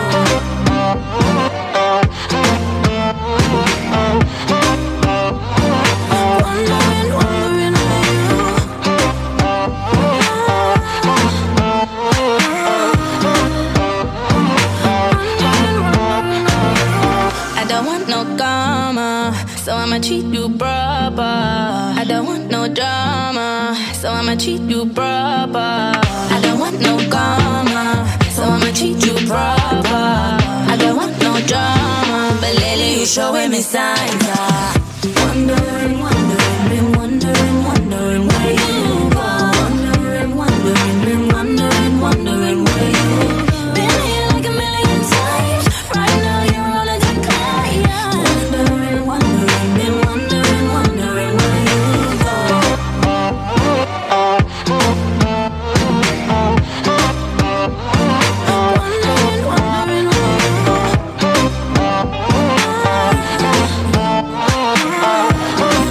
Wondering, wondering where you I don't want no karma, so I'ma treat you proper. I don't want no drama, so I'ma treat you proper. I don't want no karma, so I'ma treat you proper. I don't want no drama, but lately you showing me signs. Ah. Wondering, wondering, been wondering, wondering where you go. Wondering, wondering, been wondering, wondering where you been here like a million times. Right now you're on a decline. Wondering, wondering, been wondering, wondering where you go. Wondering, wondering where you go.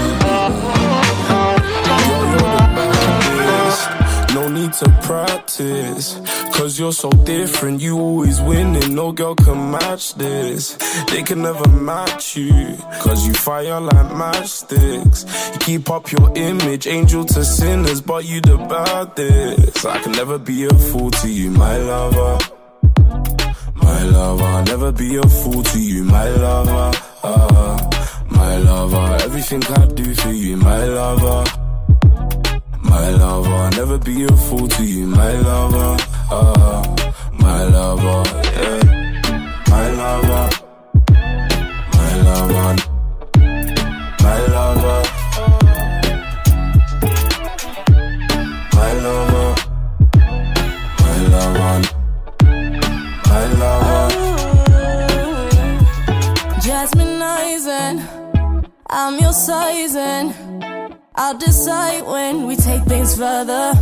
cause you're so different. You always winning, no girl can match this. They can never match you, cause you fire like matchsticks. You keep up your image, angel to sinners, but you the baddest. I can never be a fool to you, my lover. My lover, I'll never be a fool to you, my lover. Uh, my lover, everything I do for you, my lover. My lover, I'll never be a fool to you, my lover. Uh, my lover, yeah. My lover, my lover, my lover, my lover, my lover, my lover. Jasmine Eisen, I'm your sizing. I'll decide when we take things further.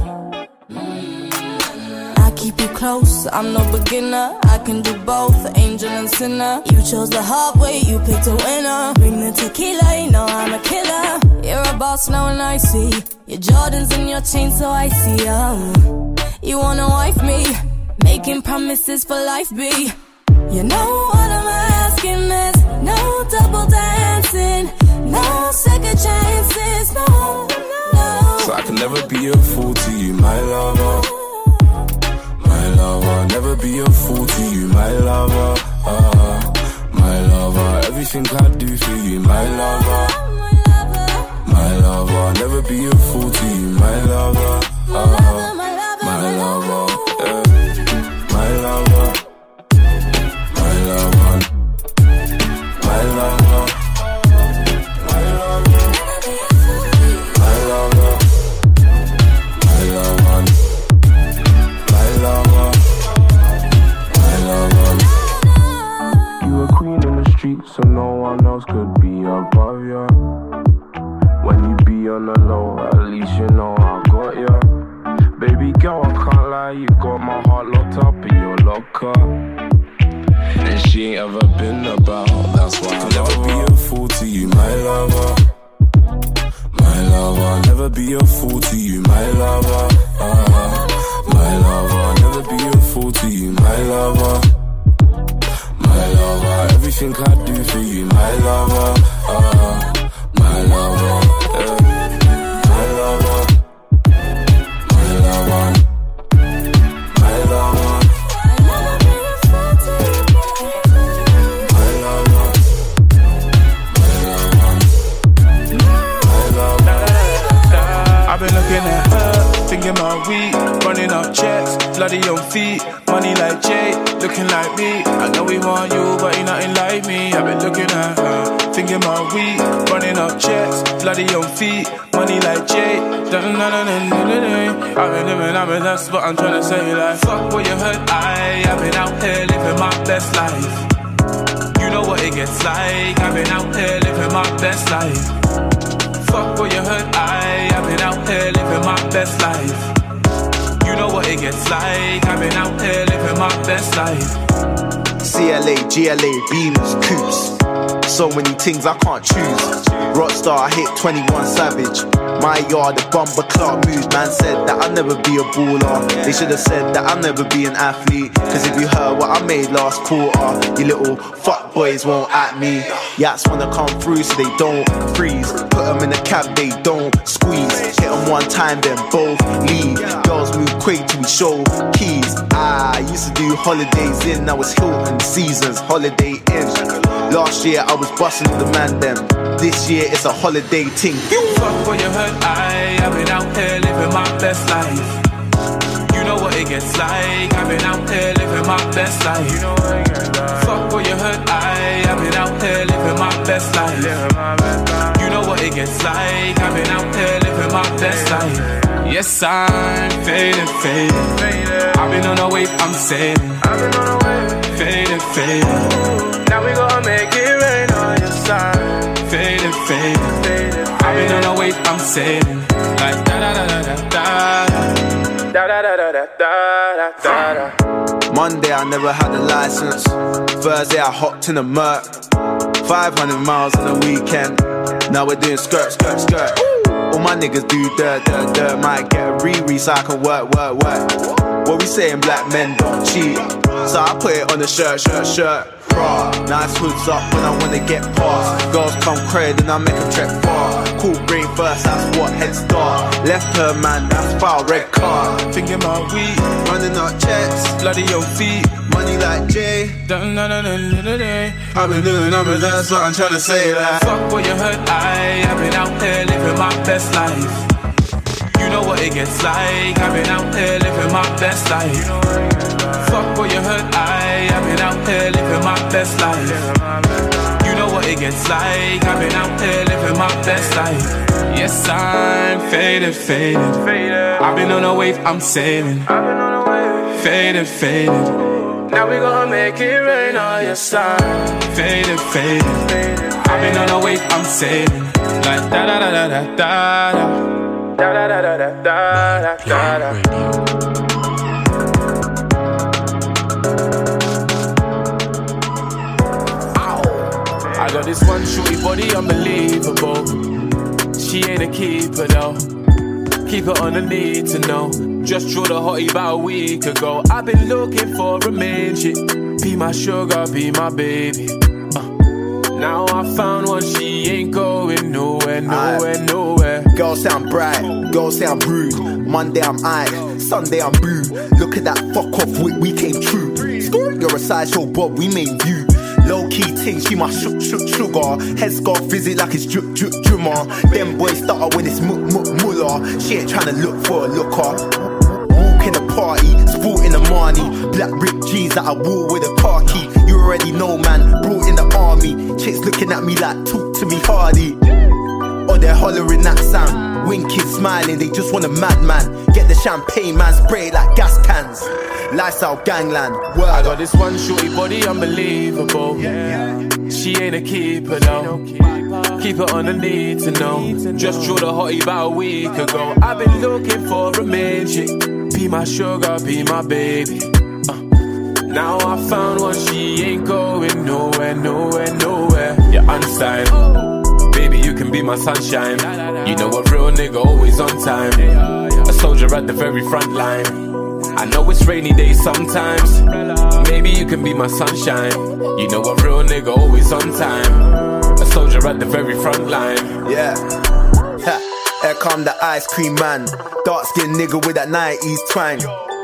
I keep you close, I'm no beginner. I can do both, angel and sinner. You chose the hard way, you picked a winner. Bring the tequila, you know I'm a killer. You're a boss now and I see your Jordans and your chain, so I see um, you wanna wife me, making promises for life, B. You know what I'm asking is no double dancing, no second chances, no, no. So I can never be a fool to you, my lover. My lover, I'll never be a fool to you, my lover. Uh, my lover, everything I do for you, my lover. My lover, I'll never be a fool to you, my lover. Uh, my lover, yeah. My lover. My lover, my lover, my lover, my lover, my lover, my lover, my lover. You a queen in the street, so no one else could be above ya. When you be on the low, at least you know I got ya. Baby girl, I can't lie, you got my heart locked up in your locker. And she ain't ever been about, that's why I'll never be a fool to you, my lover. My lover, I'll never be a fool to you, my lover. Uh, my lover, I'll never be a fool to you, my lover. My lover, everything I do for you, my lover. Uh, my lover, yeah. My lover, my lover, my lover. I've been looking at her, thinking my week, running up checks, bloody on feet, money like Jay, looking like me. I know we want you, but you're nothing like me. I've been looking at her, thinking my week, running up checks, bloody on feet, money like Jay. I've been living, I've been that's what I'm trying to say. Like, fuck what you heard, I, I've been out here living my best life. You know what it gets like, I've been out here living my best life. Fuck what you heard, I, I've been out here living my best life. You know what it gets like, I've been out here living my best life. C L A, G L A, Beamers, Coops. So many things I can't choose. Rockstar, I hit twenty-one Savage. My yard, the bumper clock moves. Man said that I'll never be a baller. They should have said that I'll never be an athlete. Cause if you heard what I made last quarter, you little fuck boys won't at me. Yats wanna come through so they don't freeze. Put them in the cab, they don't squeeze. Hit them one time, then both leave. Girls move quick till we show keys. I used to do holidays in, now it's Hilton Seasons, Holiday Inn. Last year I was busting the man them. This year it's a holiday ting. Fuck what you heard, I, I've been out here living my best life. You know what it gets like, I've been out here living my best life. You know what it gets like. Fuck what you heard, I, I've been out here living my best life. You know what it gets like, I've been out here living my best life. Yes, I'm fading, fading. I've been on a wave, I'm sailing. I've been on a wave, fading, fading. Now we gonna make it rain on your side. Fading, fading. I've been on a wave, I'm sailing. Like da da da da da da da da da da da da. Monday I never had a license. Thursday I hopped in a Merc. five hundred miles on the weekend. Now we're doing skirt, skirt, skirt. All my niggas do dirt, dirt, dirt. Might get a re-re so I can work, work, work. What we saying, black men don't cheat. So I put it on the shirt, shirt, shirt. Bra, nice hoods up when I wanna get past. Girls come crazy, then I make a trek far. Cool brain first, that's what head start. Left her man, that's foul, red card. Thinking about weed, running up checks, bloody your feet. Money like Jay. Dun, dun, dun, dun, dun, dun, dun. I've been doing numbers, that's what I'm trying to say. Like, fuck what you heard, I, I've been out there living my best life. You know what it gets like, I've been out there living my best life. Fuck what you heard, I, I've been out there living my best life. You know what it gets like, I've been out there living my best life. Yes, I'm faded, faded. I've been on a wave, I'm sailing. Faded, faded. Now we gonna make it rain on your side. Faded, faded. I've been on a wave, I'm sailing. Like da da da da da da da. Da da da da da da da da. I got this one shorty body unbelievable. She ain't a keeper though. Keep her on the need to know. Just drew the hottie about a week ago. I've been looking for a main chick. Be my sugar, be my baby. uh. Now I found one, she ain't going nowhere, nowhere, Aye. nowhere. Girls sound bright, girls sound rude. Monday I'm aight, Sunday I'm boo. Look at that fuck off wit, we came true. You're a sideshow Bob, we made you. Low key ting, she my shook shook sugar. Headscarf visit like it's drip drip drummer. Them boys stutter when it's muk muk mullah. She ain't tryna look for a looker. Walk in the party, sporting the money. Black ripped jeans that I wore with a car key. You already know, man, brought in the army. Chicks looking at me like, talk to me hardy. Or they're hollering that sound. Winking, smiling, they just want a madman. Get the champagne, man, spray it like gas cans. Lifestyle gangland, word. I got this one shorty body unbelievable. She ain't a keeper though. Keep her on the need to know. Just drew the hottie about a week ago. I've been looking for a main chick. Be my sugar, be my baby. uh. Now I found one, she ain't going nowhere, nowhere, nowhere. You're unsigned. Baby, you can be my sunshine. You know a real nigga always on time. A soldier at the very front line. I know it's rainy days sometimes. Maybe you can be my sunshine. You know a real nigga always on time. A soldier at the very front line. Yeah. Ha. Here come the ice cream man. Dark skinned nigga with that nineties twang.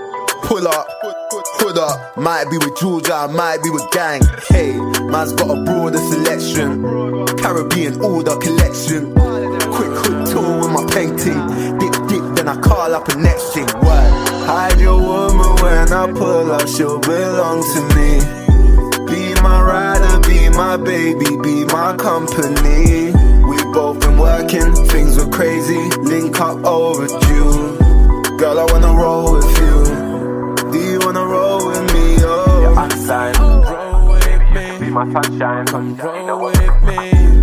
Pull up, hood up. Might be with Georgia, might be with gang. Hey, man's got a broader selection. Caribbean order collection. Quick hood tour with my painting. Dip dip, then I call up a next thing. Word. Hide your woman when I pull up, she'll belong to me. Be my rider, be my baby, be my company. We both been working, things were crazy, link up overdue. Girl, I wanna roll with you. Do you wanna roll with me? Oh, you're unsigned. Roll with me, be my sunshine. Come roll with me.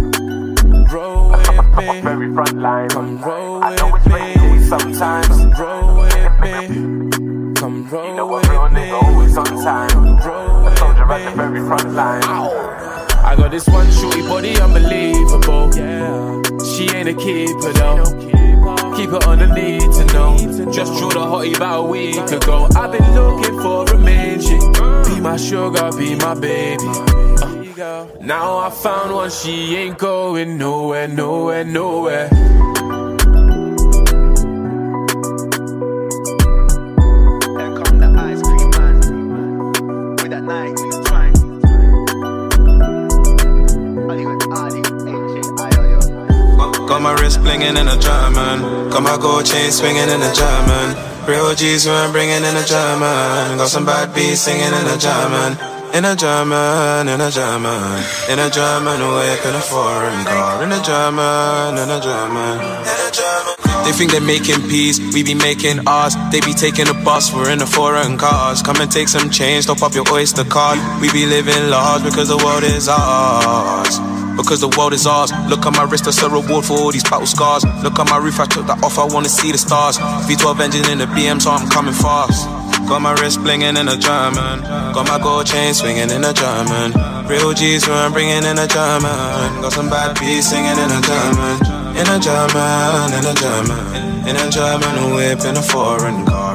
Roll with me, very front line. Come roll with me. Sometimes come roll with me. Come roll you know with real me. Nigga always on time. Roll a soldier at the very front line. Ow. I got this one shorty body unbelievable. Yeah. She ain't a keeper though. Keep her on the need to know. Just drew the hottie about a week ago. I've been looking for a main chick. Be my sugar, be my baby. uh. Now I found one, she ain't going nowhere, nowhere, nowhere. Got my wrist blingin' in a German. Got my gold chain swinging in a German. Real G's who I'm bringing in a German. Got some bad beats singing in a German. In a German, in a German. In a German whip in a foreign car. In a German, in a German. They think they're making peace, we be making ours. They be taking a bus, we're in a foreign cars. Come and take some change, top up your Oyster card. We be living large because the world is ours. Because the world is ours. Look at my wrist, that's a reward for all these battle scars. Look at my roof, I took that off, I wanna see the stars. V twelve engine in the B M, so I'm coming fast. Got my wrist blingin' in a German. Got my gold chain swinging in a German. Real G's who I'm bringing in a German. Got some bad beats singing in a German. In a German, in a German. In a German whip in a foreign car.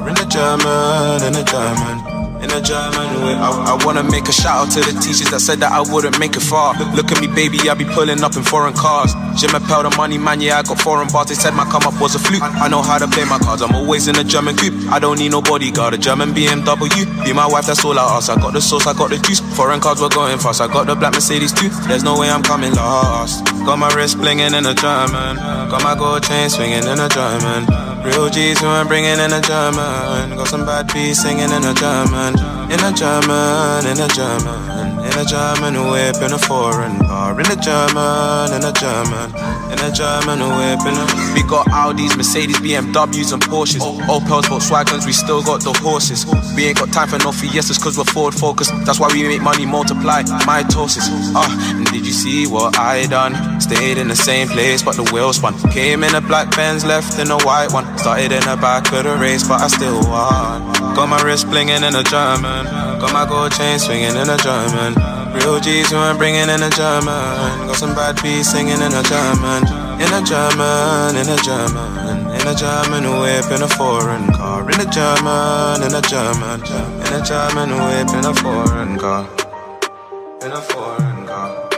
in a German, in a German. In a German way. I, I wanna make a shout out to the teachers that said that I wouldn't make it far. Look, look at me, baby, I be pulling up in foreign cars. Jim Appel, the money man, yeah, I got foreign bars. They said my come up was a fluke. I, I know how to play my cards. I'm always in a German coupe. I don't need no bodyguard. A German B M W. Be my wife, that's all I ask. I got the sauce, I got the juice. Foreign cars were going fast. I got the black Mercedes too. There's no way I'm coming last. Got my wrist blinging in a German. Got my gold chain swinging in a German. Real G's who I'm bringing in a German. Got some bad beats singing in a German. In a German, in a German. In a German whip, in a foreign car. In a German, in a German. In a German whip, in a... We got Audis, Mercedes, B M Ws and Porsches. Opels, Volkswagens, we still got the horses. We ain't got time for no Fiestas cause we're forward focused. That's why we make money multiply mitosis. Ah, uh, and did you see what I done? Stayed in the same place but the wheel spun. Came in a black Benz, left in a white one. Started in the back of the race but I still won. Got my wrist blinging in a German. Got my gold chain swinging in a German. Real G's who I'm bringing in a German. Got some bad beats singing in a German. In a German, in a German. In a German whip, in a foreign car. In a German, in a German. In a German whip, in a foreign car. In a foreign car.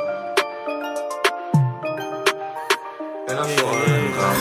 In a foreign car.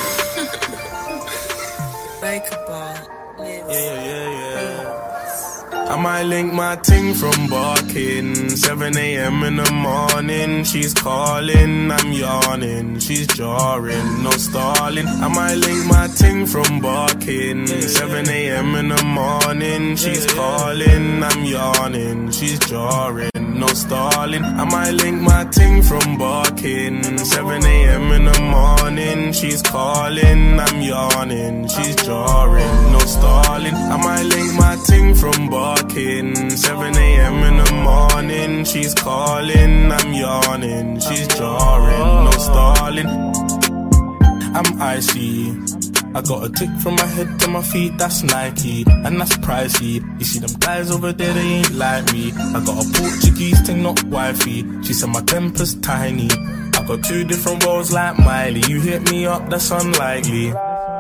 Like a ball. Yeah, yeah, yeah, yeah. I might link my ting from barking. seven a.m. in the morning. She's calling, I'm yawning. She's jarring, no stalling. I might link my ting from barking. seven a.m. in the morning. She's calling, I'm yawning. She's jarring, no stalling. I might link my ting from barking. seven a.m. in the morning. She's calling, I'm yawning. She's jarring, no stalling. I might link my ting from barking. seven a.m. in the morning. She's calling, I'm yawning. She's jarring, no stalling. I'm icy. I got a tick from my head to my feet, that's Nike, and that's pricey. You see them guys over there, they ain't like me. I got a Portuguese thing, not wifey. She said my temper's tiny. I got two different roles like Miley. You hit me up, that's unlikely.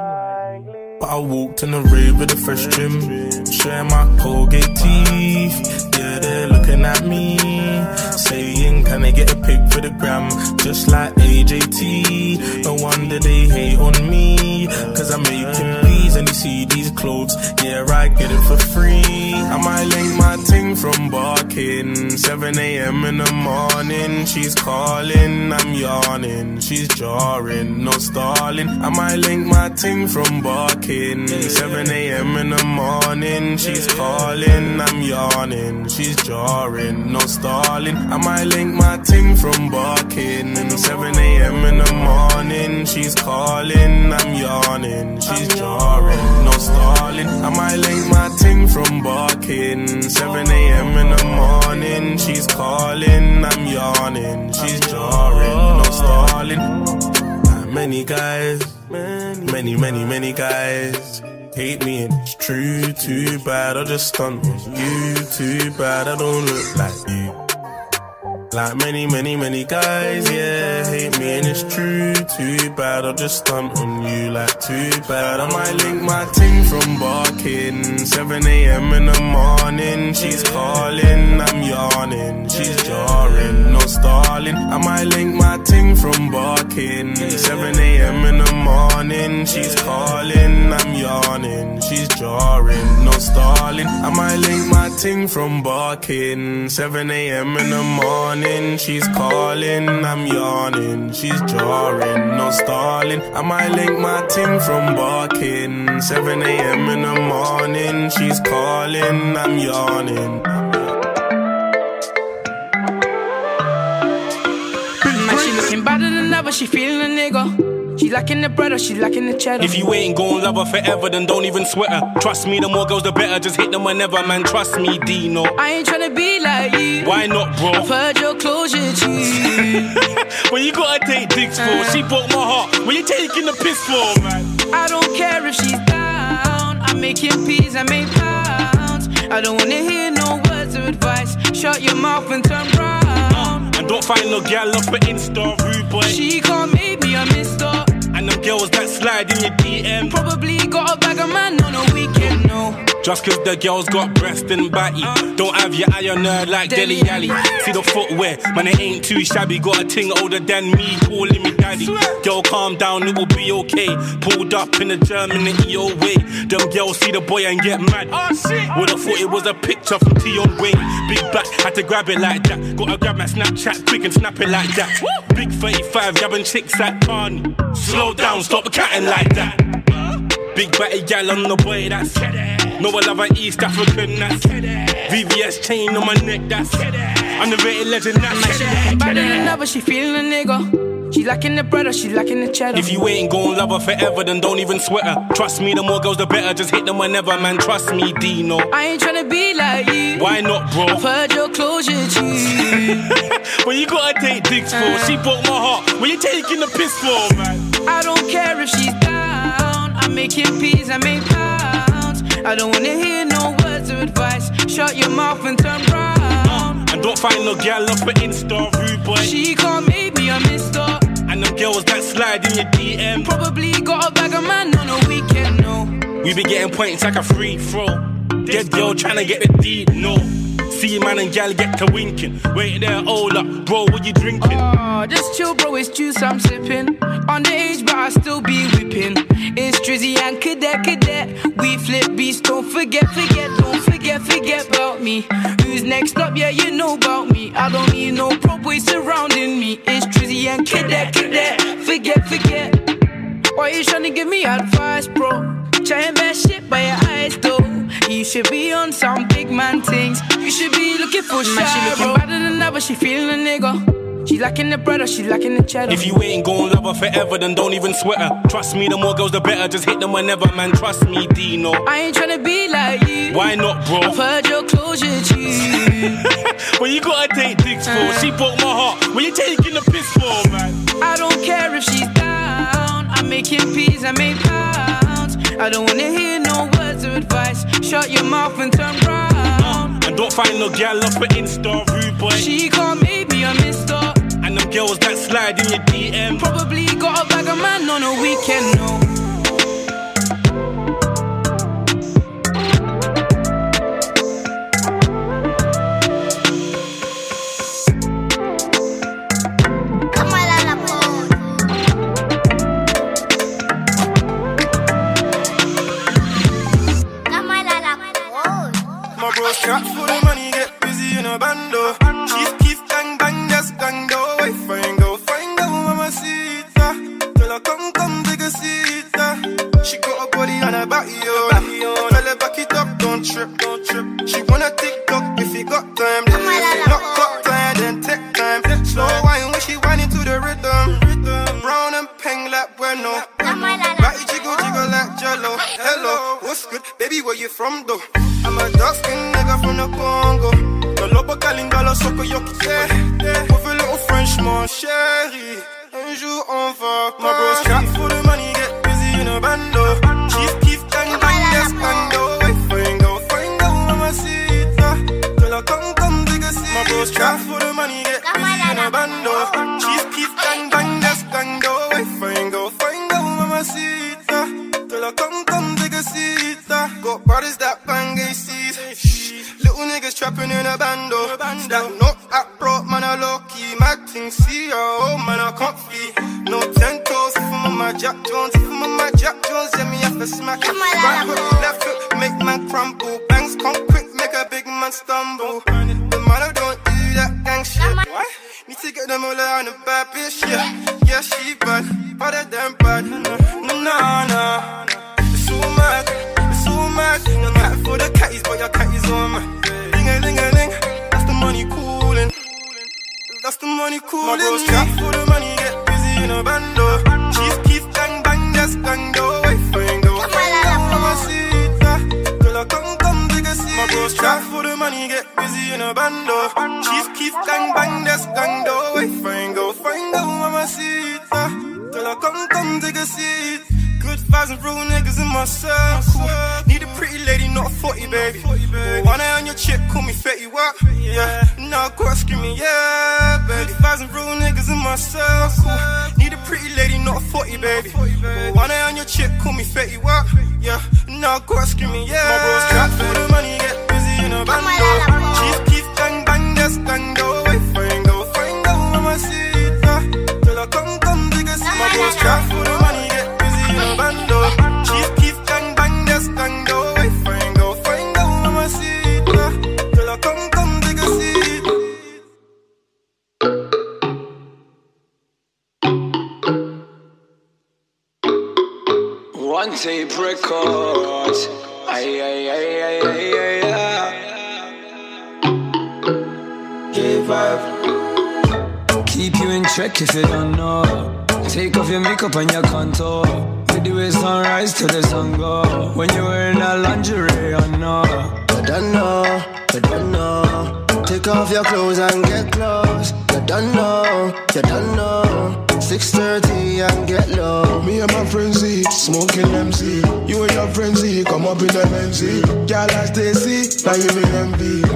But I walked in the rave with a fresh trim, sharing my Colgate teeth. Yeah, they're looking at me, saying, can I get a pic for the gram? Just like A J T. No wonder they hate on me, cause I'm making peas and you see these clothes. Yeah, I get it for free. I might link my ting from barking. seven a.m. in the morning. She's calling, I'm yawning. She's jarring, no stalling. I might link my ting from barking. seven a.m. in the morning. She's calling, I'm yawning. She's jarring, no stalling. I might link my ting from barking. seven a.m. in the morning. She's calling, I'm yawning. She's jarring, no stalling. I might link my ting from barking. seven a.m. in the morning. She's calling, I'm yawning. She's jarring, no stalling. Many guys, many, many, many guys hate me and it's true. Too bad I just stunt on you. Too bad I don't look like you. Like many, many, many guys, yeah, hate me and it's true. Too bad I'll just stunt on you. Like too bad I might link my ting from barking. seven a.m. in the morning. She's calling, I'm yawning. She's jarring, no stalling. I might link my ting from barking. seven a.m. in the morning. She's calling, I'm yawning. She's jarring, no stalling. I might link my ting from barking. seven a.m. in the morning. She's calling, I'm yawning. She's jarring, no stalling. I might link my ting from barking. seven a.m. in the morning. She's calling, I'm yawning. Man, she looking better than ever. She feeling a nigga. She lacking the bread or she lacking the cheddar. If you ain't gon' love her forever, then don't even sweat her. Trust me, the more girls the better. Just hit them whenever, man. Trust me, Dino. I ain't tryna be like you. Why not, bro? I've heard your closure, G. When you gotta take dicks for, uh, she broke my heart. When you taking the piss for, man? I don't care if she's down. I'm making peas, I make pounds. I don't wanna hear no words of advice. Shut your mouth and turn round. Uh, and don't find no gal up at Insta, rude boy. She can't make me a mister. And them girls that slide in your D M probably got a bag of man on a weekend, no. Just cause the girl's got breast and batty. Don't have your eye on her like Deli Alley. See the footwear, man, it ain't too shabby. Got a ting older than me, calling me daddy. Girl, calm down, it will be okay. Pulled up in the German E O way. Them girls see the boy and get mad. Would've thought it was a picture from Tion Wayne. Big back, had to grab it like that. Gotta grab my Snapchat quick and snap it like that. Big thirty-five, yabbing chicks at Barney. Slow down, stop catting like that. Big batty gal on the boy, that's no, I love an East African, that's V V S chain on my neck, that's I'm the rated legend, that's Better than ever, she feeling a nigga. She lacking the bread or she lacking the cheddar. If you ain't gon' love her forever, then don't even sweat her. Trust me, the more girls the better, just hit them whenever, man, trust me, Dino. I ain't tryna be like you. Why not, bro? I've heard your closure, G. When you gotta take dicks for, uh, she broke my heart. When you taking the piss for, man? I don't care if she's down. I'm making peas, I make pounds. I don't wanna hear no words of advice. Shut your mouth and turn round. Uh, and don't find no gal up for Insta, rude boy. She can't make me a mister. And them girls that slide in your D M probably got a bag of man on a weekend, no. We be getting points like a free throw. Dead girl tryna get the D, no. See man and gal get to winking. Wait there, hold up, bro, what you drinking? Oh, just chill, bro, it's juice I'm sipping. Underage, but I still be whipping. It's Drizzy and Cadet, Cadet. We flip beats, don't forget, forget, don't forget, forget about me. Who's next up? Yeah, you know about me. I don't need no pro boys surrounding me. It's Drizzy and Cadet, Cadet. Forget, forget. Why you tryna give me advice, bro? Trying bad shit by your eyes, though. You should be on some big man things. You should be looking for shit. She looking better than ever, she feeling a nigga. She lacking the bread or she lacking the cheddar. If you ain't gon' love her forever, then don't even sweat her. Trust me, the more girls the better, just hit them whenever, man, trust me, Dino. I ain't tryna be like you. Why not, bro? I've heard your closure, G. When you gotta take dicks for, uh, she broke my heart. When you taking the piss for, man? I don't care if she's down. I'm making peas, I make pounds. I don't wanna hear no words of advice. Shut your mouth and turn round. Uh, and don't find no gal up for Insta, rude boy. She can't make me a mister. And them girls that slide in your D M probably got a bag of man on a weekend, no. Trap for the money, get busy in a bando. Chief Keef, gang bang, just gang do. Wait, find go, find go, mamacita. Till I come, come, take a seat. She got a body on her body, yo. Tell her back it up, don't trip, don't trip. She wanna TikTok if you got time. Then if you not got time, then take time. Slow wine when she whine into the rhythm. Brown and peng like bueno. Body jiggle, jiggle like jello. Hello, what's good? Baby, where you from though? I'm a dark skinned nigga from the Congo. The lobo calingalo soko yoki with a little Frenchman, chérie. Un jour on va. My bros trap for the money, get busy in a bando. Chief Keef, gang bang, yes, bando. Wait, find go, find go, mamacita. Till I come, come, dig a seat. My bros trap for the money, get busy in a bando. Chief Keef, gang bang, yes, bando. Wait, find go, find go, mamacita. Till I come, come, dig a seat. Got brothers that bang A Cs. Little niggas trapping in a bando. That knock at broke, man, I low key. Mad thing, see, oh, man, I can't feel. No ten toes, if I'm on my Jack Jones. If I'm on my Jack Jones, yeah, me have to smack it. Right hook, left hook, make man crumble. Bangs come quick, make a big man stumble. The man, I don't do that gang shit. Why? Need to get them all on a bad bitch, yeah. Yeah, she bad, better than bad. No, no, no. It's so mad. I'm mad for the catties, but your catties on me. Ding-a-ling-a-ling, that's the money coolin'. That's the money coolin'. My bros trap for the money, get busy in a bando. Chief Keef, gang bang, just gang do. Wait, find go, find go, mamacita. Till I come, come, dig a seat. My bros trap for the money, get busy in a bando. Chief Keef, gang bang, just gang do. Wait, find go, find go, mamacita. Till I come, come, dig a seat. Good vibes and real niggas in my circle. Need a pretty lady, not a forty, baby. One eye on your chick, call me Fetty Wap. Yeah, now I gotta scream me, yeah, baby. Good vibes and real niggas in my circle. Need a pretty lady, not a forty, baby. One eye on your chick, call me Fetty Wap. Yeah, now go screaming, yeah. My bros crack for the money, get busy in a bando. Chief, keep, bang, bang, just bang, go away, find go, find go, mama see it, uh. Till I come, come, take a seat. My bros crack for the money, get busy in a bando. Chief, keep, bang, bang, just bang, go away, find go, find go, mama see it, uh. Till I come, come, take a seat. One tape records. Ay, ay, ay, ay, ay, ay, ay. J five. Keep you in check if you don't know. Take off your makeup and your contour. We do it sunrise till the sun go. When you're wearing that lingerie, I know. You don't know, you don't know. Take off your clothes and get close. You don't know, you don't know. six thirty and get low. Me and my friends Z, smoking M C. You and your friends Z, come up in the M C. Girl like Stacy, now you be M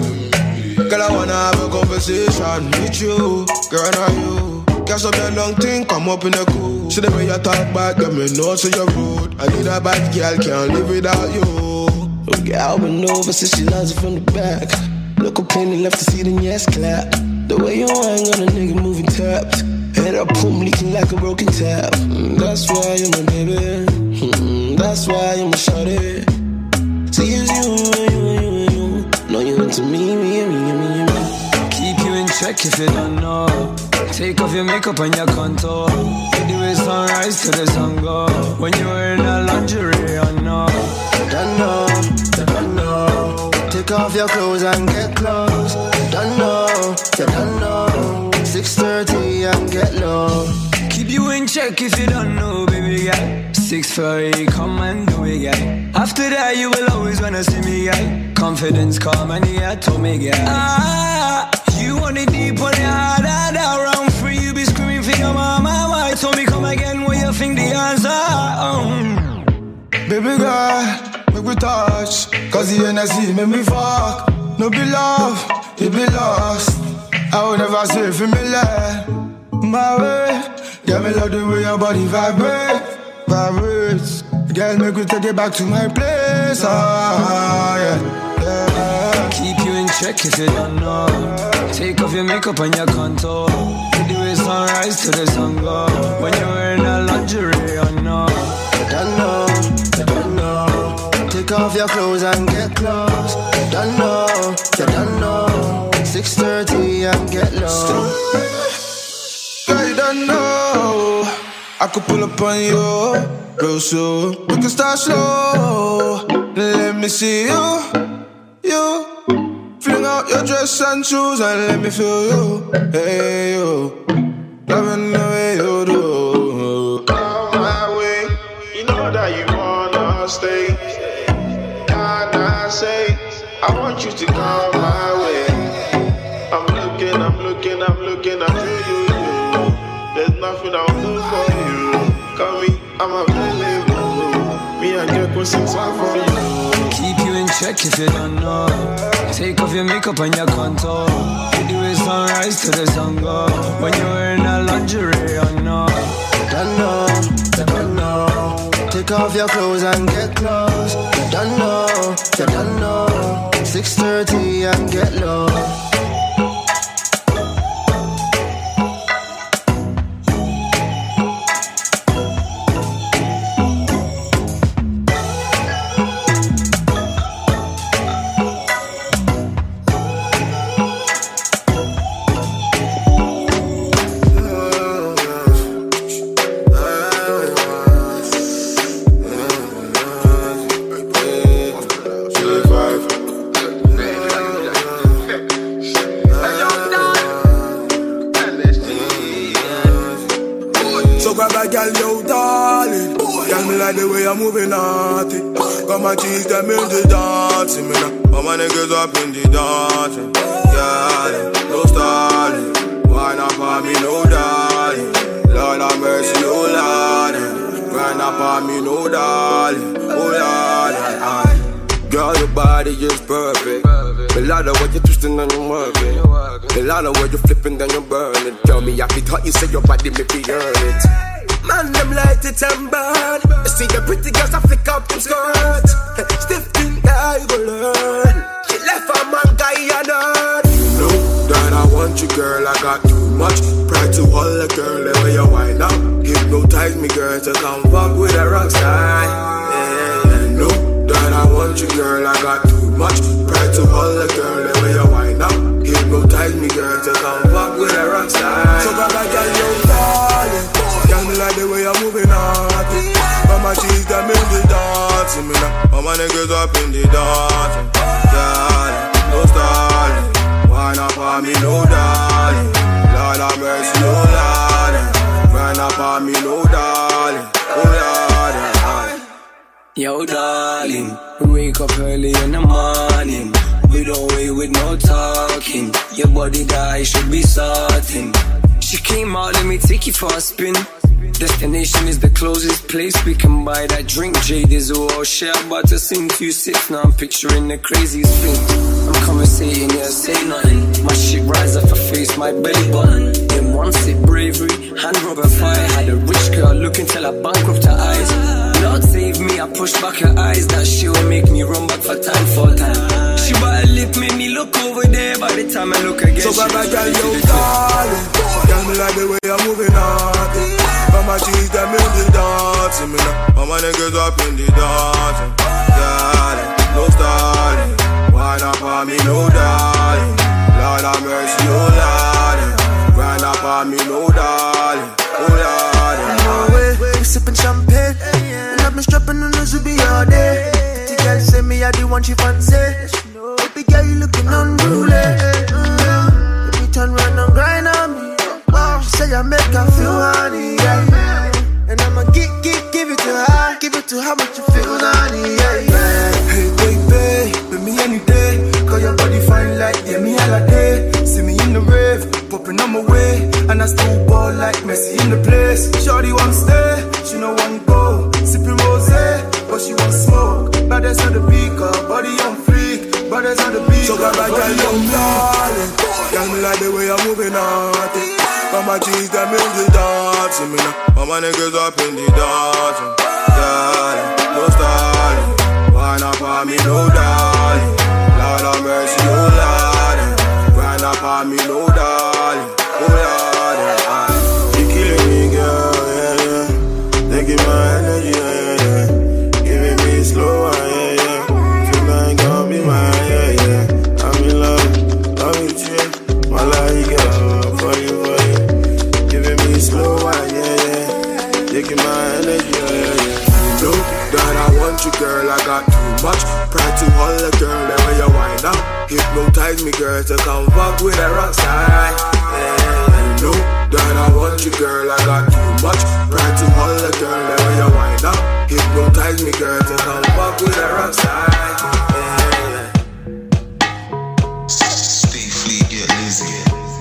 V. Girl, I wanna have a conversation with you. Girl, now you. Guess up your long thing, come up in the cool. See the way you talk back, let me know so you're rude. I need a bad girl, can't live without you. Okay, I'll been over since she loves it from the back. Look up in left to see the yes clap. The way you hang on a nigga moving taps. Head up, boom, leaking like a broken tap. Mm, that's why you're my baby. Mm, that's why you're my shawty. See, it's you, you, you, you. No, you into me, me, me, me, me. Keep you in check if you don't know. Take off your makeup and your contour. We do it sunrise till the sun go. When you're wearing that lingerie, I know. You don't know, you don't know. Take off your clothes and get close. You don't know, you don't know. six thirty and get low. Keep you in check if you don't know, baby girl. six thirty, come and do it, girl. After that, you will always wanna see me, girl. Confidence, come and yeah, told me, girl. Ah, you want it deep on the hard, hard, around free. You be screaming for your mama. Why told me come again? What you think the answer? Um. Baby girl, make me touch. Cause the energy make me fuck. No be love, it be lost. I would never say for me like my way. Girl, me love the way your body vibrate, vibrates. Girl, make me take it back to my place. Ah, yeah, yeah. Keep you in check if you don't know. Take off your makeup and your contour. We do it sunrise till the sun go. When you're wearing that lingerie, I know. You don't know, you don't know. Take off your clothes and get close. You don't know, you don't know. six thirty and get low. Girl, you don't know. I could pull up on you real soon. We can start slow. Let me see you, you. Fling out your dress and shoes and let me feel you. Hey, you. Loving the way you do. Come my way. You know that you wanna stay. Can I say, I want you to come my way. I'm looking, I'm looking, I'm looking at you, you, you. There's nothing I'll do for you. Call me, I'm available. Me and Jack will sing song for you. Keep you in check if you don't know. Take off your makeup and your contour. We do it sunrise till the sun go. When you're wearing that lingerie, I know. You don't know, you don't know. Take off your clothes and get close. You don't know, you don't know. six thirty and get low. Moving naughty. Got my cheeks them in the dancing, me now. All my niggas up in the dancing. Yeah, no stalling. Why not for me, no darling? Lord have mercy, oh Lord. Grind up on me, no darling. Oh Lord. Girl, your body is perfect. The lot of what you're twisting and you're working. The lot of what you're flipping and you're burning. Tell me, I can thought you said your body make me earn it. Man, them like set it and burn. You see the pretty girls I flick up them skirts. Stiff thing that you go learn. She left her man guy and earn. You know that I want you, girl. I got too much pride to hold a girl. The way you wind up, hypnotize me, girl, to come fuck with a rock star. Yeah, you know that I want you, girl. I got too much pride to hold a girl. The way you wind up, hypnotize me, girl, to come fuck with a rock star. So bad, I got you, darling. Tell me like the way you're moving on. Mama, she's them in the dance. Me now, all my niggas up in the dance. Darling, no stalling. Why not for me, no darling? Lord have mercy, no darling. Why not for me, no darling? Oh darling. Yo, darling, we wake up early in the morning. We don't wait with no talking. Your body that should be sorting. She came out, let me take you for a spin. Destination is the closest place we can buy that drink. Jade is all share, about to sing few sips. Now I'm picturing the craziest thing. I'm conversating, yeah, say nothing. My shit rise off her face, my belly button. Then one sip bravery, hand rub her fire. Had a rich girl looking till I bankrupt her eyes. Lord save me, I push back her eyes. That shit will make me run back for time for time. She bought a lip, made me look over there. By the time I look again, so bad, girl, you darling. Tell me like the way you're moving on. Mama, she's them in the dance. Me now, all my niggas up in the dance. Darling, no stalling. Why not for me, no darling? Lord have mercy, oh darling. Why not for me, no darling? Oh darling. No way, we sipping champagne. And I've been strapping on the Zubi all day. The girl say me I the one she fancy. Baby girl, you looking unruly. Mm-hmm. Baby, turn round and grind on me. She say I make her feel honey, yeah. And I'ma give, give, give it to her. Give it to her, make you feel honey, yeah, yeah. Hey, baby, with me any day. Cause your body fine like yeah, me holiday. See me in the rave, popping on my way. And I still ball like Messi in the place. Shorty want stay, she no want go. Sipping rosé, but she want smoke. Brothers on the beat, body on freak. Brothers on the beat, so got my girl, young darling. Tell me like the way I'm moving on. Mama, cheese them in the dance. Me now, all my niggas up in the dance. Darling, no stalling. Why not for me, no darling? Lord have mercy, oh darling. Why not for me, no darling? Oh darling. You killing me, girl, yeah, yeah. Taking my energy, yeah, yeah. Giving me slow, yeah, yeah. Feel like I'll be mine, yeah, yeah. I'm in love, love with you. My life, girl, for you, for you. Slow wine, yeah, yeah. Taking my energy, yeah, yeah. You know that I want you, girl. I got too much pride to hold a girl. The way you wind up, hypnotize me, girl, to come fuck with a rock star. Yeah, you know that I want you, girl. I got too much pride to hold a girl. The way you wind up, hypnotize me, girl, to come fuck with a rock star. Yeah, yeah. Stay fleet, get lazy.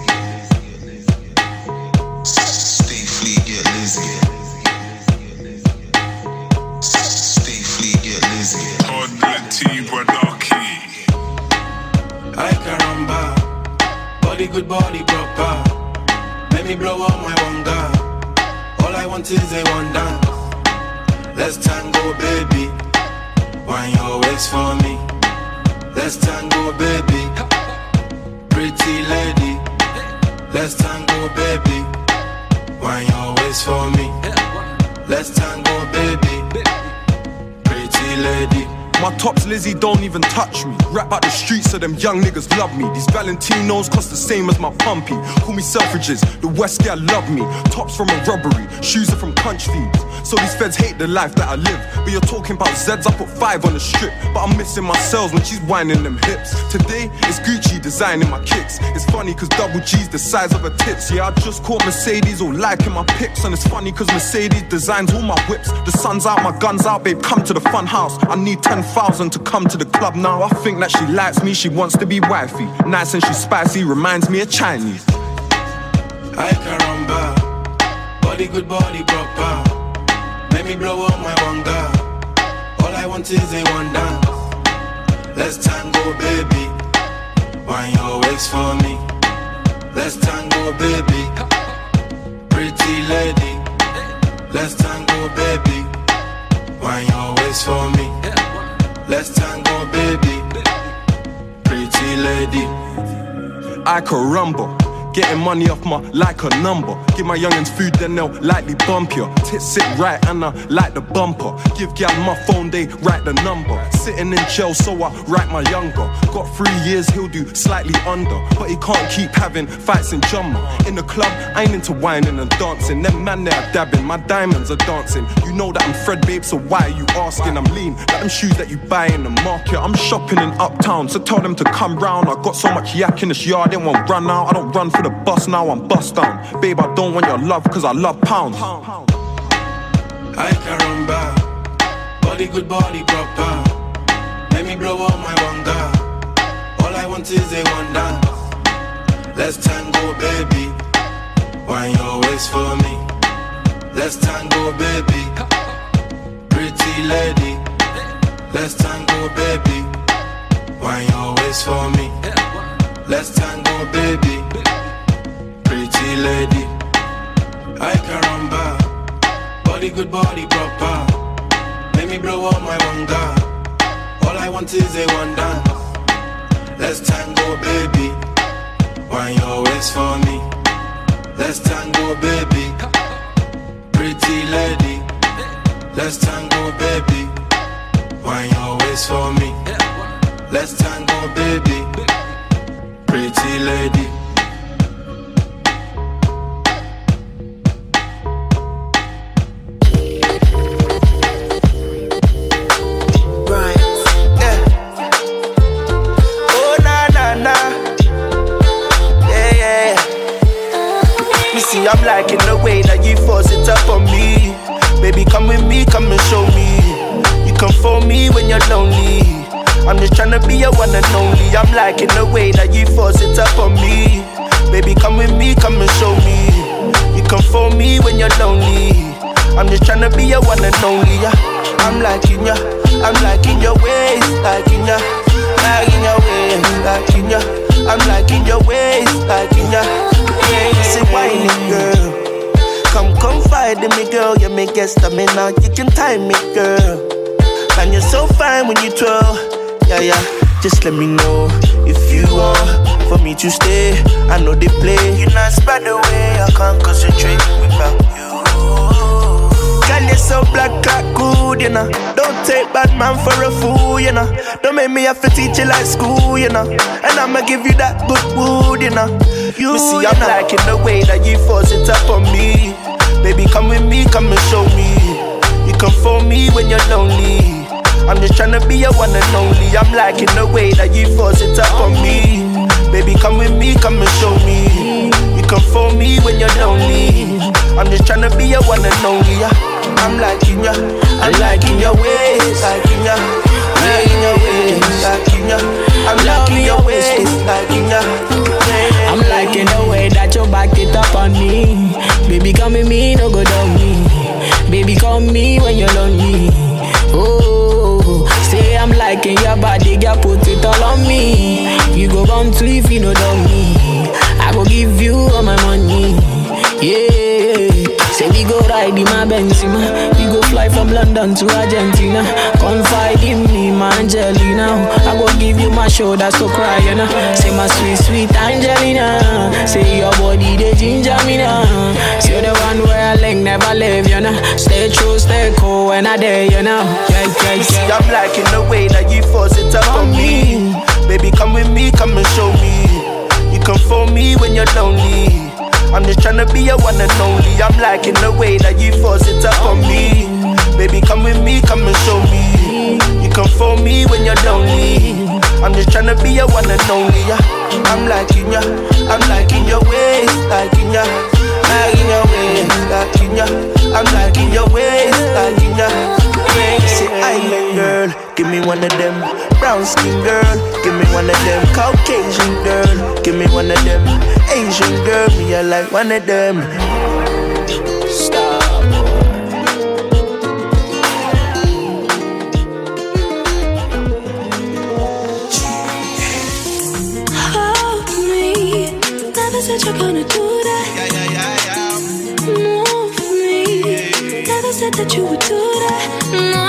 I caramba, body good, body proper. Let me blow up my wanga. All I want is a one dance. Let's tango, baby. Wine your waist for me. Let's tango, baby. Pretty lady. Let's tango, baby. Wine your waist for me. Let's tango, baby. Pretty lady. My tops Lizzie don't even touch me. Rap out the streets so them young niggas love me. These Valentinos cost the same as my pumpy. Call me Selfridges, the West girl love me. Tops from a robbery, shoes are from punch feeds. So these feds hate the life that I live. But you're talking about Zeds, I put five on the strip. But I'm missing my cells when she's whining them hips. Today, it's Gucci designing my kicks. It's funny cause double G's the size of her tits. Yeah, I just caught Mercedes all liking my pics. And it's funny cause Mercedes designs all my whips. The sun's out, my gun's out, babe, come to the fun house. I need ten thousand to come to the club now. I think that she likes me, she wants to be wifey. Nice and she's spicy, reminds me of Chinese. I caramba, body good, body proper. Let me blow up my wanga. All I want is a one dance. Let's tango, baby. Wine your waist for me. Let's tango, baby. Pretty lady. Let's tango, tango, baby. Wine your waist for me. Let's tango, baby. Pretty lady. I could rumble. Getting money off my like a number. Give my youngins food, then they'll lightly bump you. Tits sit right and I like the bumper. Give gal my phone, they write the number. Sitting in jail, so I write my younger. Got three years, he'll do slightly under. But he can't keep having fights in Jumma. In the club, I ain't into whining and dancing. Them man there dabbing, my diamonds are dancing. You know that I'm Fred, babe, so why are you asking? I'm lean, like them shoes that you buy in the market. I'm shopping in Uptown, so tell them to come round. I got so much yak in this yard, they won't run out. I don't run for the bus now, I'm bust down. Babe, I don't want your love, cause I love pounds. I can run back. Body good, body proper. Let me blow on my wanga. All I want is a one dance. Let's tango, baby. Wine your waist for me. Let's tango, baby. Pretty lady. Let's tango, baby. Wine your waist for me. Let's tango, baby. Pretty lady. I can run back. Body good, body proper. Let me blow up my wanga. All I want is a one dance. Let's tango, baby. Wine your waist for me. Let's tango, baby. Pretty lady. Let's tango, baby. Wine your waist for me. Let's tango, baby. Pretty lady. I'm liking the way that you force it up on me. Baby, come with me, come and show me. You come for me when you're lonely. I'm just tryna be your one and only. I'm liking the way that you force it up on me. Baby, come with me, come and show me. You come for me when you're lonely. I'm just tryna be your one and only. Yeah. I'm liking ya, I'm liking your ways, liking ya, liking your ways, liking ya. I'm liking your ways, liking ya. Say whining girl, come confide in me girl. You make get stamina, you can time me girl. And you're so fine when you twirl. Yeah yeah, just let me know if you want for me to stay. I know they play. You're not spread away, I can't concentrate without you. Girl, you're so black, cat good, you know. Don't take bad man for a fool, you know. Don't make me have to teach you like school, you know. And I'ma give you that good wood, you know. You see, I'm know. Liking the way that you force it up on me. Baby, come with me, come and show me. You come for me when you're lonely. I'm just tryna be your one and only. I'm liking the way that you force it up on me. Baby, come with me, come and show me. You come for me when you're lonely. I'm just tryna be your one and only. Yeah. I'm liking ya, I'm liking your ways, liking ya, liking your ways, liking ya. I'm liking your ways, liking ya. I'm liking the way that you back it up on me. Baby, come with me, no go down me. Baby, come me when you're lonely. Oh, say I'm liking your body, girl, put it all on me. You go on to if you know down me. I go give you all my money. Yeah, say we go ride in my Benzema. We go fly from London to Argentina. Confide in me, my Angelina. I go give you my shoulder, so cry, you know. Say my sweet, sweet Angelina. Say your body, they ginger me now. Say the one where I like never leave, you know. Stay true, stay cool when I dare, you know. Yeah, yeah, yeah. See, I'm liking the way that you force it up on me. Baby, come with me, come and show me. You come for me when you're lonely. I'm just tryna be your one and only. I'm liking the way that you force it up on me. Baby, come with me, come and show me. You come for me when you're lonely. I'm just tryna be your one and only. Yeah. I'm liking ya, I'm liking your ways, liking ya, liking your ways, liking ya. I'm liking your ways, liking ya. Say island girl, give me one of them. Brown skin girl, give me one of them. Caucasian girl, give me one of them. Asian girl, me I like one of them. Stop. Hold me, never said you're gonna do that. Yeah, yeah, yeah, yeah. Move me, never said said that you would do that. No,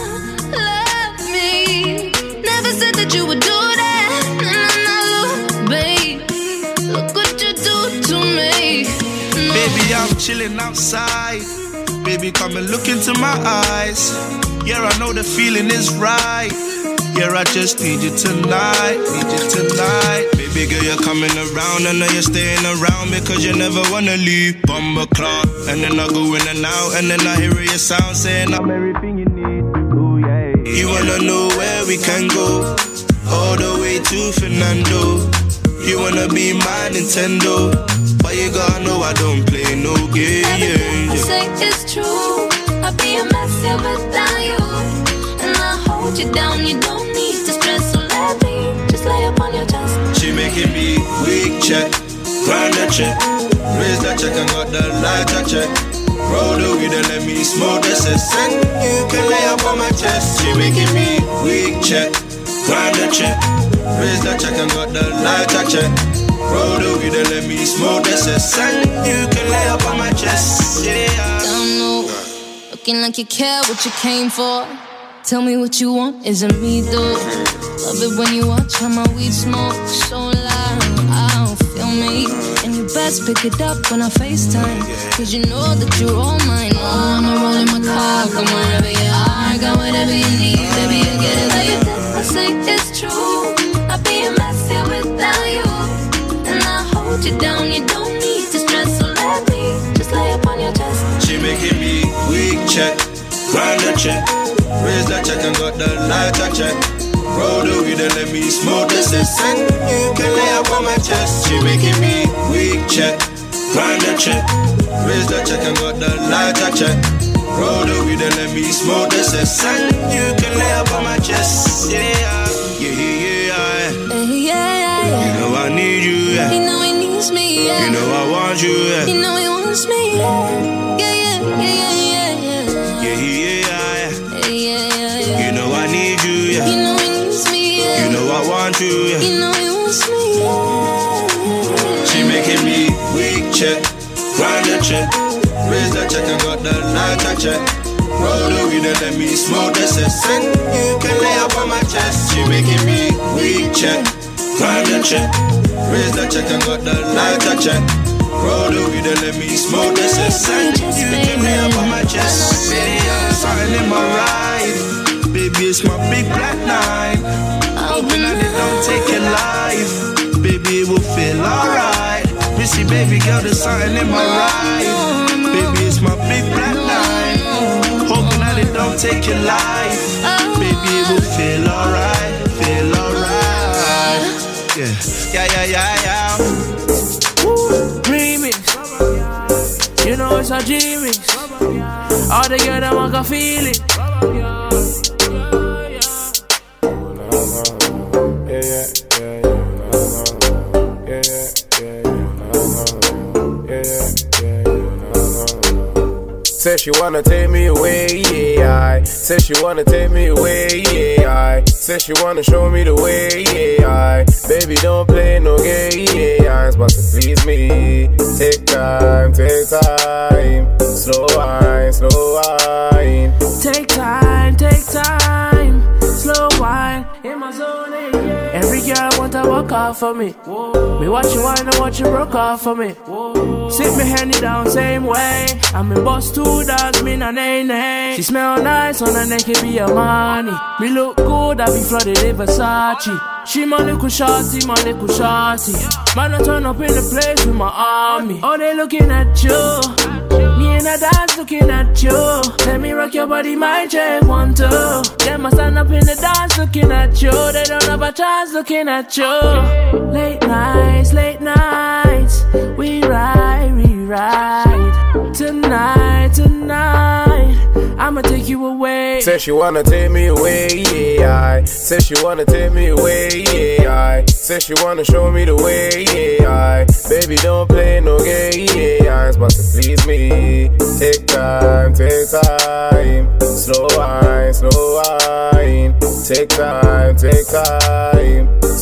love me. Never said that you would do that. No, no, no, baby, look what you do to me. No. Baby, I'm chilling outside. Baby, come and look into my eyes. Yeah, I know the feeling is right. Yeah, I just need you tonight, need you tonight. Baby girl, you're coming around. I know you're staying around because you never wanna leave. Bumble clock, and then I go in and out, and then I hear your sound saying I'm everything you need. Ooh, yeah. You wanna know where we can go? All the way to Fernando. You wanna be my Nintendo, but you gotta know I don't play no games. I say it's true. I'd be a mess here without you. And I hold you down, you don't need to stress. So let me just lay up on your chest. She making me weak check, grind that check, raise that check and got the lighter check. Roll the weed and let me smoke the cess. And you can lay up on my chest. She making me weak check, grind that check, raise that check and got the lighter check. Roll the weed and let me smoke the cess. And you can lay up on my chest. Yeah. Don't know, looking like you care what you came for. Tell me what you want, isn't me though. Love it when you watch how my weed smoke so loud. I don't feel me. And you best pick it up when I FaceTime, cause you know that you're all mine. Oh, I'ma roll in my car, come wherever you are. Got whatever you need, baby, you get it like you did. I say it's true. I'd be a mess here without you. And I hold you down, you don't need to stress. So let me just lay up on your chest. She making me weak check, grind the check, raise that check and got the lighter check. Roll the weed and let me smoke the cess. And you can lay up on my chest. She making me weak check, grind the check, raise that check and got the lighter check. Roll the weed and let me smoke the cess. And you can lay up on my chest. Yeah, yeah, yeah, yeah, yeah, yeah, yeah. You know I need you, yeah. You know he needs me, yeah. You know I want you, yeah. You know he wants me, yeah. Yeah, yeah, yeah, yeah, yeah, yeah. Yeah, yeah, yeah, yeah, yeah, yeah. You know I need you, yeah. You know he needs me, yeah. You know I want you, yeah. You know he wants me, yeah. She making me weak check, grind the check, raise that check and got the lighter check. Roll the weed and let me smoke the cess. And you can lay up on my chest. She making me weak check, grind the check, raise that check and got the lighter check. Roll the weed and let me smoke the cess. And you can lay up on my chest. Yeah, something in my ride. Baby, it's my big black night. Hoping that they don't take your life. Baby, it will feel alright. Missy, baby girl, there's something in my ride. Baby, it's my big black night. Hoping that it don't take your life. Baby, it will feel alright. Feel alright. Yeah, yeah, yeah, yeah, yeah. Remix. You know it's a G-Mix. All the girls that want to feel it. Said she wanna take me away, yeah, I said she wanna take me away, yeah, I said she wanna show me the way, yeah, I baby don't play no games, but to please me, take time, take time, slow wine, slow wine. Take time, take time, slow wine, in my zone, yeah. Every girl want to walk off for me. Whoa. Me watch you wine and watch you broke off for me. Whoa. Sit me handy down same way. I'm in boss two dogs, me na nay nay. She smell nice on her neck, it be a money. Me look good, I be flooded in Versace. She my little shorty, my little shorty. Man, I turn up in the place with my army. Oh, they looking at you. Me and a dance looking at you. Let me rock your body, my check one, two. Them I stand up in the dance looking at you. They don't have a chance looking at you. Late nights, late nights. We ride, we ride. Tonight, tonight. I'ma take you away. Said she wanna take me away, yeah, I said she wanna take me away, yeah, I said she wanna show me the way, yeah, I baby don't play no games, but to please me, take time, take time, slow wine, slow wine, take time, take time,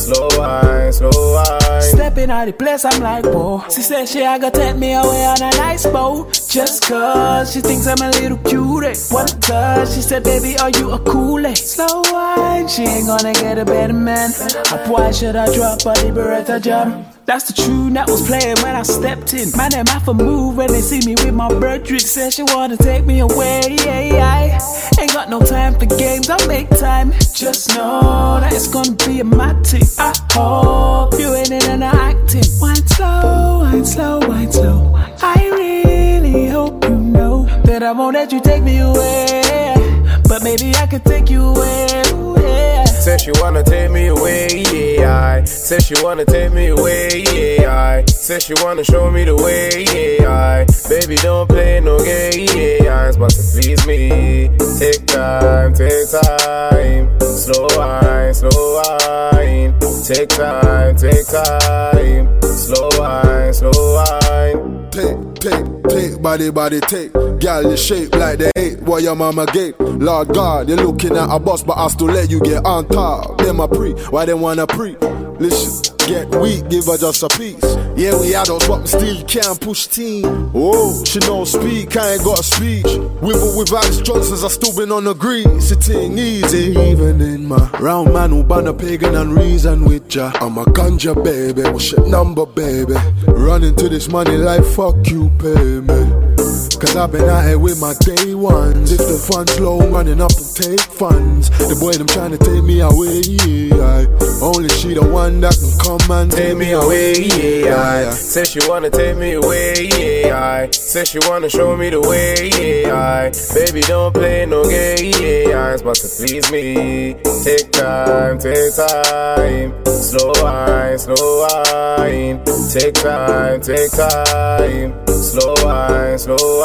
slow wine, slow wine. Stepping out the place, I'm like, whoa. She said she a gonna take me away on a nice boat. Just cause she thinks I'm a little cutie. One touch, she said, baby, are you a coolie? Slow wine, she ain't gonna get a better man. Up, why should I drop a Liberata jam? That's the tune that was playing when I stepped in. Man, them have to move when they see me with my bird trick. Said she wanna take me away, yeah, I ain't got no time for games, I'll make time. Just know that it's gonna be a mad thing. I hope you ain't in and acting. Wine slow, wine slow, wine slow. I really hope you know that I won't let you take me away, but maybe I could take you away, yeah. Said she wanna take me away, yeah, I said she wanna take me away, yeah, I said she wanna show me the way, yeah, I baby, don't play no game, yeah, I but to please me. Take time, take time. Slow wine, slow wine. Take time, take time. Slow wine, slow wine. Take, take, take, body, body, take. Girl, you shape like they hate what your mama gave. Lord God, you're looking at a boss, but I still let you get on top. Them a pre, why they wanna pre? Listen, get weak, give her just a piece. Yeah, we adults, but we still can't push team. Oh, she don't speak, I ain't got a speech. With or without instructions, I still been on the green. Sitting easy, even in my round man who ban a pagan and reason with ya. I'm a ganja baby, what's your number, baby? Running to this money like fuck you, pay me. Cause I've been out here with my day ones. If the funds low, running up and take funds. The boy them trying to take me away, yeah. Only she the one that can come and take me away, yeah. Said she wanna take me away, yeah. Said she wanna show me the way, yeah. Baby, don't play no game, yeah. But to please me, take time, take time. Slow wine, slow wine. Take time, take time. Slow wine, slow wine.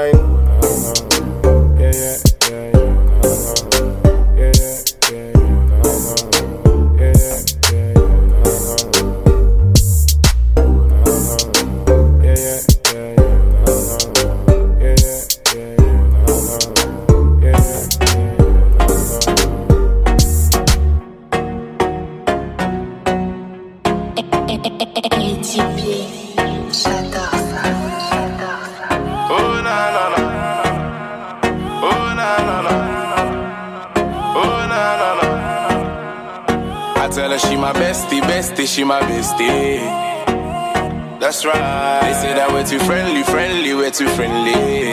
Yeah, yeah, yeah, yeah. Yeah, yeah, yeah, yeah. Yeah, yeah, yeah, yeah. Yeah, yeah, yeah, A T P, j'adore ça. Oh na na na, oh na na na, oh na na na. I tell her she my bestie, bestie, she my bestie. That's right. They say that we're too friendly, friendly, we're too friendly.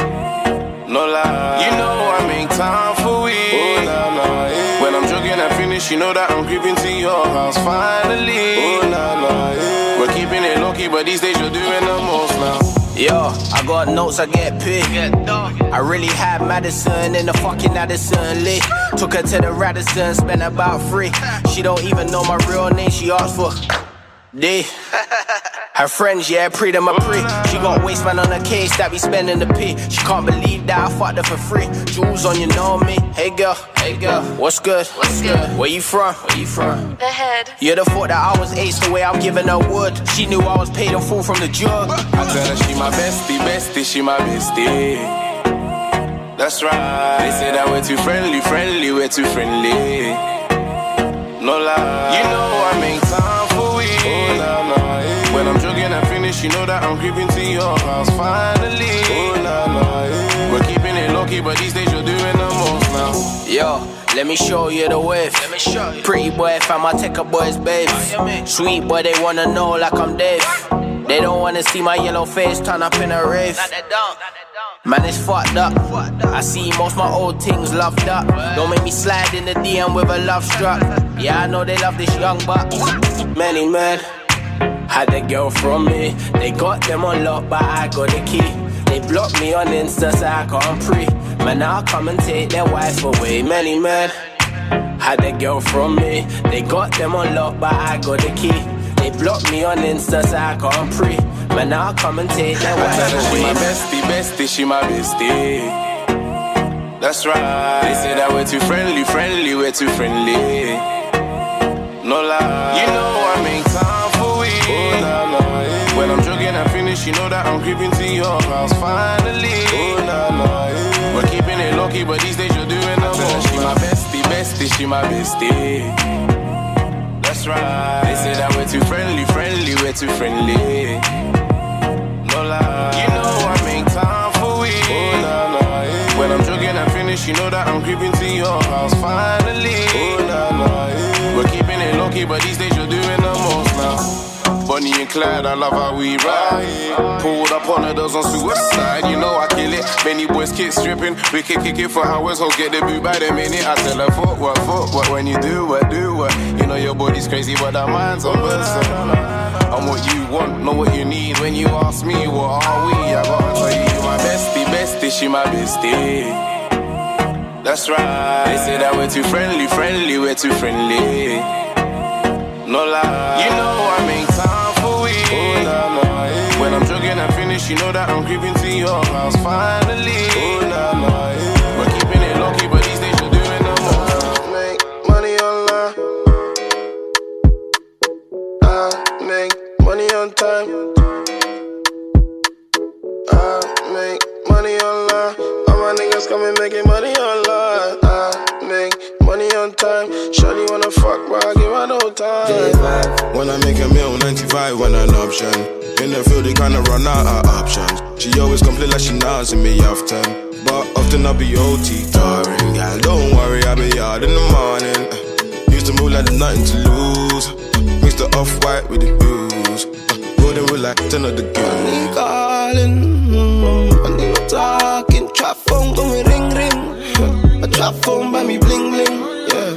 No lie, you know I make time for we. Oh na na, yeah. When I'm joking and finish, you know that I'm creeping to your house finally. Oh na na, yeah. We're keeping it low key, but these days you're doing the most now. Yo, I got notes, I get paid. I really had Madison in the fucking Addison Lee. Took her to the Radisson, spent about three. She don't even know my real name, she asked for D. Her friends, yeah, pre them a pre. She got waistband on her case that be spending the P. She can't believe that I fucked her for free. Jewels on, you know me. Hey girl, hey girl, what's good? What's good? Where you from? Where you from? The head. You'd have thought that I was ace the way I'm giving her wood. She knew I was paid in full from the jug. I tell her she my bestie, bestie, she my bestie. That's right. They say that we're too friendly, friendly, we're too friendly. No lie, you know I make time for we. Oh, nah, nah, yeah. When I'm joking and finish, you know that I'm creeping to your house finally. Oh, nah, nah, yeah. We're keeping it low key, but these days you're doing the most now. Yo, let me show you the wave. Let me show you. Pretty boy, fam, I take a boy's babe. Sweet boy, they wanna know like I'm Dave. They don't wanna see my yellow face turn up in a rave. Man, it's fucked up. I see most my old things loved up. Don't make me slide in the D M with a love struck. Yeah, I know they love this young buck. Many men had a girl from me. They got them on lock, but I got the key. They blocked me on Insta, so I can't pre. Man, I'll come and take their wife away. Many men had a girl from me. They got them on lock, but I got the key. They blocked me on Insta, so I can't pre. Man, I'll come and take their wife away. She my bestie, bestie, she my bestie. That's right. They say that we're too friendly, friendly, we're too friendly. No lie, you know I make time for we. Oh, nah, nah, yeah. When I'm joking and finish, you know that I'm creeping to your house finally. Oh, nah, nah, yeah. We're keeping it low key, but these days you're doing the most. She my bestie, bestie, she my bestie. That's That's right. They say that we're too friendly, friendly, we're too friendly. No lie. You know I make time for we. Oh, nah, nah, yeah. When I'm jogging and finish, you know that I'm creeping to your house finally. Oh, nah, nah, yeah. We're keeping it low-key, but these days you're doing the most now. Bonnie and Clyde, I love how we ride. Pulled up on the doors on suicide, you know I kill it. Many boys kick stripping, we can kick it for hours. Hoes get the boot by the minute. I tell her fuck what, fuck what. When you do what, do what. You know your body's crazy, but our minds on bursting. I'm what you want, know what you need. When you ask me, what are we? I gotta tell you, my bestie, bestie, she my bestie. That's right. They say that we're too friendly, friendly, we're too friendly. No lie. You know I make time for we. Oh, nah, nah, yeah. When I'm jogging and finish, you know that I'm creeping to your house finally. Oh, nah, nah, yeah. We're keeping it low-key, but these days you're doing the most. Make money online. I make money on time. I make money online. All my niggas coming making money online. I make money on time. Shawty wanna fuck, but I give her no time. When I make a meal, ninety-five when an option. In the field, they kinda run out of options. She always complain like she nods in me often. But often I be O T tiring, girl. Don't worry, I'll be out in the morning. Used to move like there's nothing to lose. Mix the off-white with the blues. Golden with like ten of the girls. Money calling, money talking. Trap phone going ring ring. A trap phone by me bling bling. Yeah.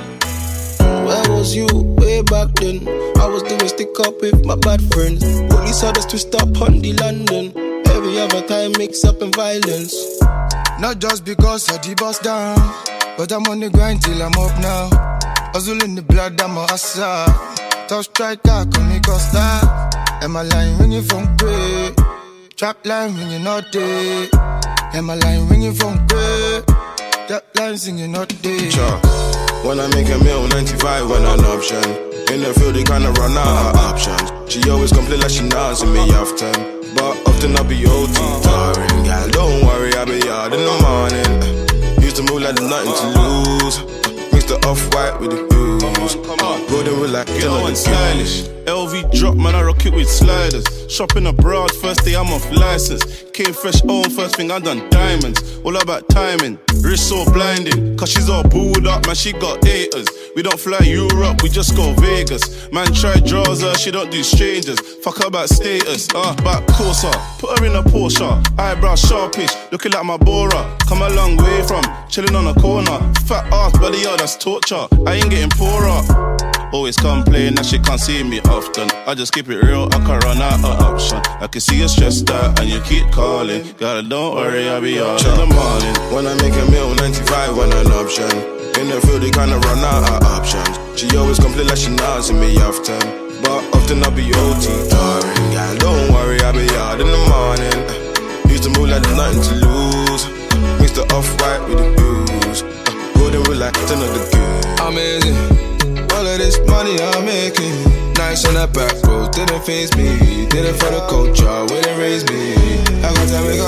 Where was you way back then? I was doing stick up with my bad friends. Police had us twist up on the London. Every other time mix up in violence. Not just because I the bust down, but I'm on the grind till I'm up now. Hustle in the blood, I'm a hustler. Tough striker, call me Costa. And my line ringing from grey. Trap line ringing all day. And my line ringing from grey. That line singing all day. Sure. When I make a meal, ninety-five when an option. In the field, they kinda run out of options. She always complain like she nods in me often. But often I be O T tiring, girl. Don't worry, I'll be out in the morning. Used to move like there's nothing to lose. Mix the off-white with the blues. Golden with like you know I'm stylish. L V drop, man, I rock it with sliders. Shopping abroad, first day I'm off license. Came fresh home, first thing I done diamonds. All about timing, wrist so blinding. Cause she's all booed up, man, she got haters. We don't fly Europe, we just go Vegas. Man try draws her, she don't do strangers. Fuck her about status, uh, back closer. Put her in a Porsche, eyebrow sharpish. Looking like my Bora, come a long way from chilling on a corner. Fat ass, buddy, yeah, that's torture. I ain't getting poorer. Always complain that she can't see me often. I just keep it real, I can run out of option. I can see you stressed out and you keep calling. Girl, don't worry, I'll be out in the morning. When I make a meal, ninety-five when an option. In the field, they kinda run out of options. She always complain like she nods in me often. But often I be O T tiring. Girl, don't worry, I'll be out in the morning. Used to move like there's nothing to lose. Mix the off-white with the blues. Golden with like ten of the girls. Amazing. All of this money I'm making. Nice on that back road, didn't face me. Did it for the culture, wouldn't raise me. I got to make a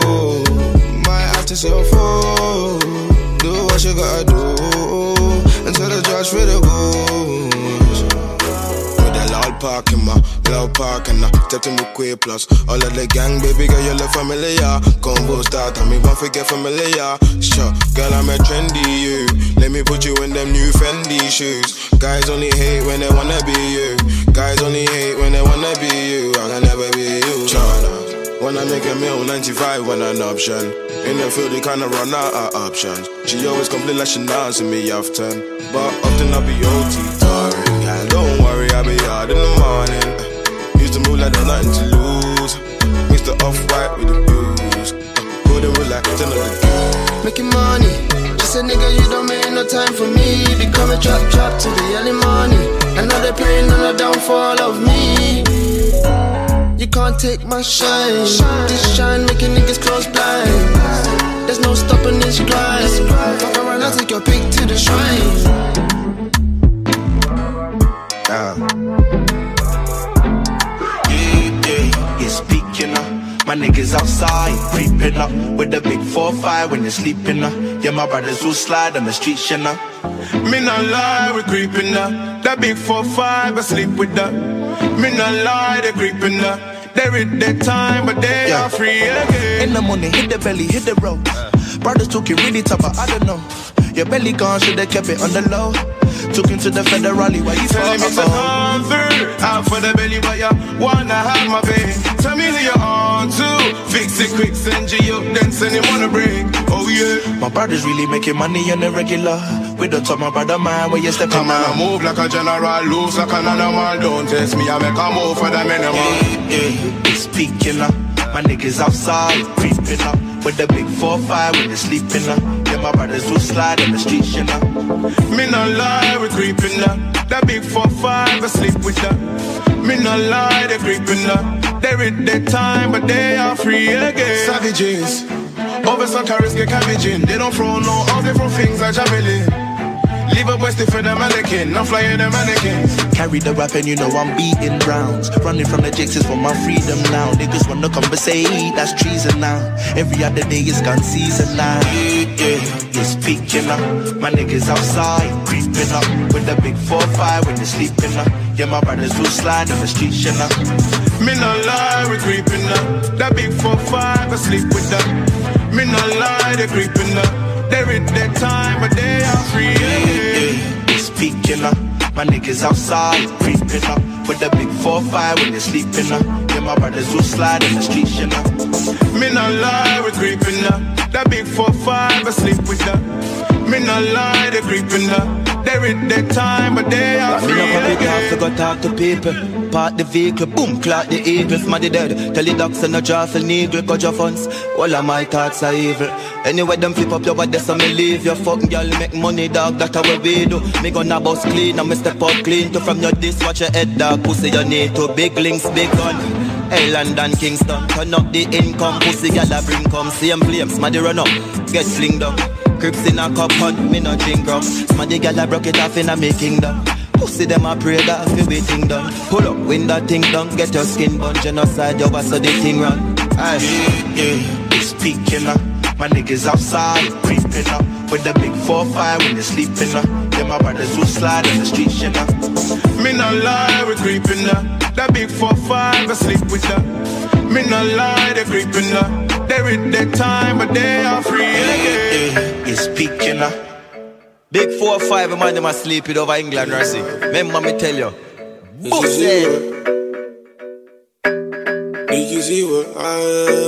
move. Might have to sell food. Do what you gotta do until the judge for the goose. With a loud park in my loud park and I stepped in with Quay Plus. All of the gang, baby girl, you look familiar. Combo start, and me won't forget familiar. Sure, girl, I'm a trendy you. Let me put you in them new Fendi shoes. Guys only hate when they wanna be you. Guys only hate when they wanna be you. I can never be you. Sure. When I make a meal, ninety-five when an option. In the field, they kinda run out of options. She always complain like she nods in me often. But often I be O T tiring. Girl, don't worry, I'll be out in the morning. Used to move like there's nothing to lose. Mix the off-white with the blues. Golden with like ten of the girls. Making money, just a nigga, you don't make no time for me. Become a trap trap to the early morning. Another pain and a downfall of me. You can't take my shine. This shine making niggas close blind. There's no stopping this grind. Fuck around, I'll take your pick to the shrine. Yeah. Yeah, yeah, you speaking up. My niggas outside, creeping up with the big four five when you're sleeping up. Yeah, my brothers will slide on the streets, you know. Me not lie, we creeping up. That big four five, I sleep with that. Me not lie, they creeping up. They read their time, but they yeah. are free again. In the morning, hit the belly, hit the road. Brothers took it really tough, but I don't know. Your belly gone, should've kept it on the low. Took him to the federally, why you telling me to come through? Out for the belly, but you wanna have my baby. Tell me who you're on to. Fix it quick, send you up, then send him on a break. Oh yeah. My brother's really making money on the regular. We don't talk my brother man, where you step come on, I move like a general, loose like an animal. Don't test me, I make a move for the minimum. Yeah, yeah, it's peaking up. My niggas outside, creeping up. With the big four five, when they sleeping up. Yeah, my brothers will slide in the streets, you know. Me not lie, we creeping up. That big four five, I sleep with that. Me not lie, they creeping up. They read their time, but they are free again. Savages, over some carrots get cabbaging. They don't throw no out, they throw things like javelin. Leave a west for the mannequin, I'm flying the mannequins. Carry the rap and you know I'm beating rounds. Running from the jakes is for my freedom now. Niggas wanna conversate, that's treason now. Every other day is gun season now. Yeah, yeah, it's peaking up. My niggas outside, creeping up. With the big four five when they're sleeping up. Yeah, my brothers will slide on the streets, you know. Me not lie, we creeping up. That big four five, I sleep with that. Me not lie, they creeping up. They read their time, but they are free. Yeah, yeah, it's peaking up. My niggas outside, creeping up. With the big four five when they're sleeping up. Yeah, my brothers will slide in the streets, you know. Me not lie, we creeping up. That big four five, I sleep with that. Me not lie, they creeping up. They read their time, but they are free. Me not pop it off to go talk to people. Park the vehicle, boom, clock the eagle. Smaddy dead, tell the docs and no jawful needle. Cut your funds, all of my thoughts are evil. Anyway, them flip up your body, so me leave your fucking girl, make money, dog, that's how we do. Me gonna bust clean, and me step up clean. To from your disc, watch your head, dog, pussy you need to. Big links, big gun, hey, London, Kingston. Turn up the income, pussy girl, I bring come. Same flames, smaddy run up, get sling down. Crips in a cup, hunt, me no drink rum. Smaddy girl, I broke it off in a me kingdom. Pussy them a pray that fi waiting done. Pull up, win that thing done, get your skin bun. Genocide, you so the thing run. Aye. Yeah, yeah, it's peaking up. My niggas outside, creeping up. With the big four five when they're sleeping up. Yeah, my brothers will slide in the streets, you know. Me not lie, we creeping up. That big four five, I sleep with that. Me not lie, they creeping up. They read their time, but they are free again. Yeah, it's peaking up. Big four five, man, them a sleep it over England, Rossi. Remember me tell you. Pussy. Did you see what I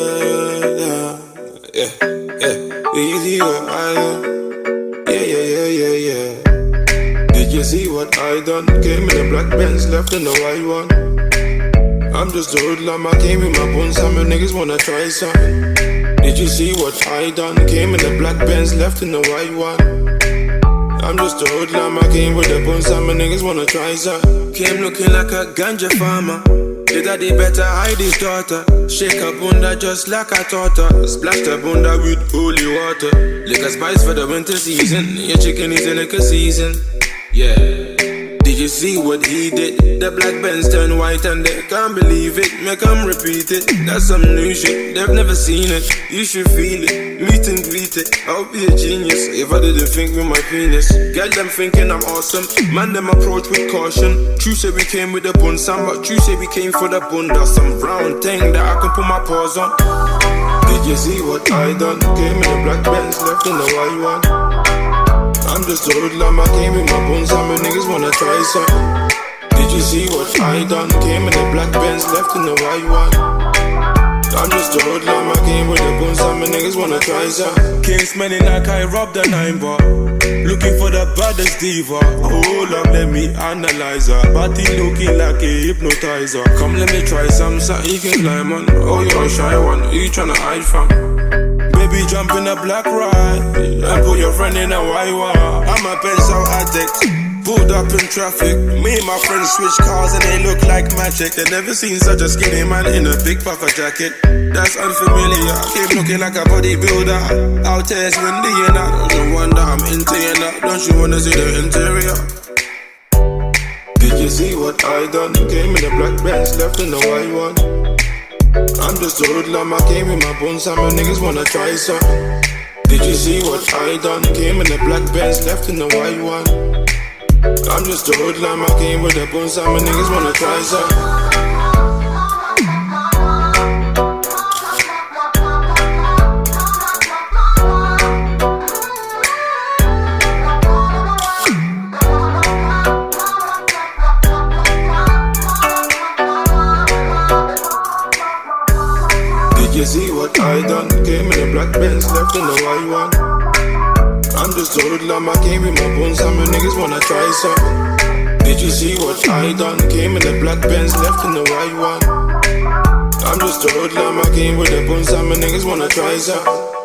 uh, yeah, yeah. Did you see what I uh, yeah, yeah, yeah, yeah, yeah. Did you see what I done? Came in the black Benz, left in the white one. I'm just a hoodlum, I came in my bones, some niggas wanna try something. Did you see what I done? Came in the black Benz, left in the white one. I'm just a hoodlum, I came with the bones, some niggas wanna try something. Came looking like a ganja farmer. The daddy better hide his daughter. Shake a bunda just like I taught her. Splash the bunda with holy water. Liquor spice for the winter season. Your chicken is in liquor season. Yeah. Did you see what he did? The black Benz turned white and they can't believe it. Make them repeat it. That's some new shit. They've never seen it. You should feel it. Meet and greet it. I'll be a genius if I didn't think with my penis. Get them thinking I'm awesome. Man, them approach with caution. True say we came with the bun, some, but true say we came for the bunda. Some brown thing that I can put my paws on. Did you see what I done? Came in the black Benz, left in the white one. I'm just a hoodlum, I came in my bones, some niggas wanna try something. Did you see what I done? Came in the black Benz, left in the white one. I'm just a hoodlum, I came with the bones, some niggas wanna try something. Came smelling like I robbed a nine bar. Looking for the baddest diva. Hold up, let me analyze her. Body looking like a hypnotizer. Come let me try some, something you can climb on. Oh, you're a shy one, who you tryna hide from? Baby, jump in a black ride and put your friend in a white one. I'm a pencil addict, pulled up in traffic. Me and my friends switch cars and they look like magic. They never seen such a skinny man in a big puffer jacket. That's unfamiliar. Keep looking like a bodybuilder. Out there it's windy and I don't wonder I'm into you now. Don't you wanna see the interior? Did you see what I done? Came in the black Benz, left in the white one. I'm just a hoodlum, I came in my bones, some niggas wanna try something. Did you see what I done? Came in the black Benz, left in the white one. I'm just a hoodlum, I came with a bone, some niggas wanna try some. You see what I done? Came in a black Benz, left in the white one. I'm just a hoodlum, I came with my bones, some niggas wanna try some. Did you see what I done? Came in a black Benz, left in the white one. I'm just a hoodlum, I came with the bones, some niggas wanna try some.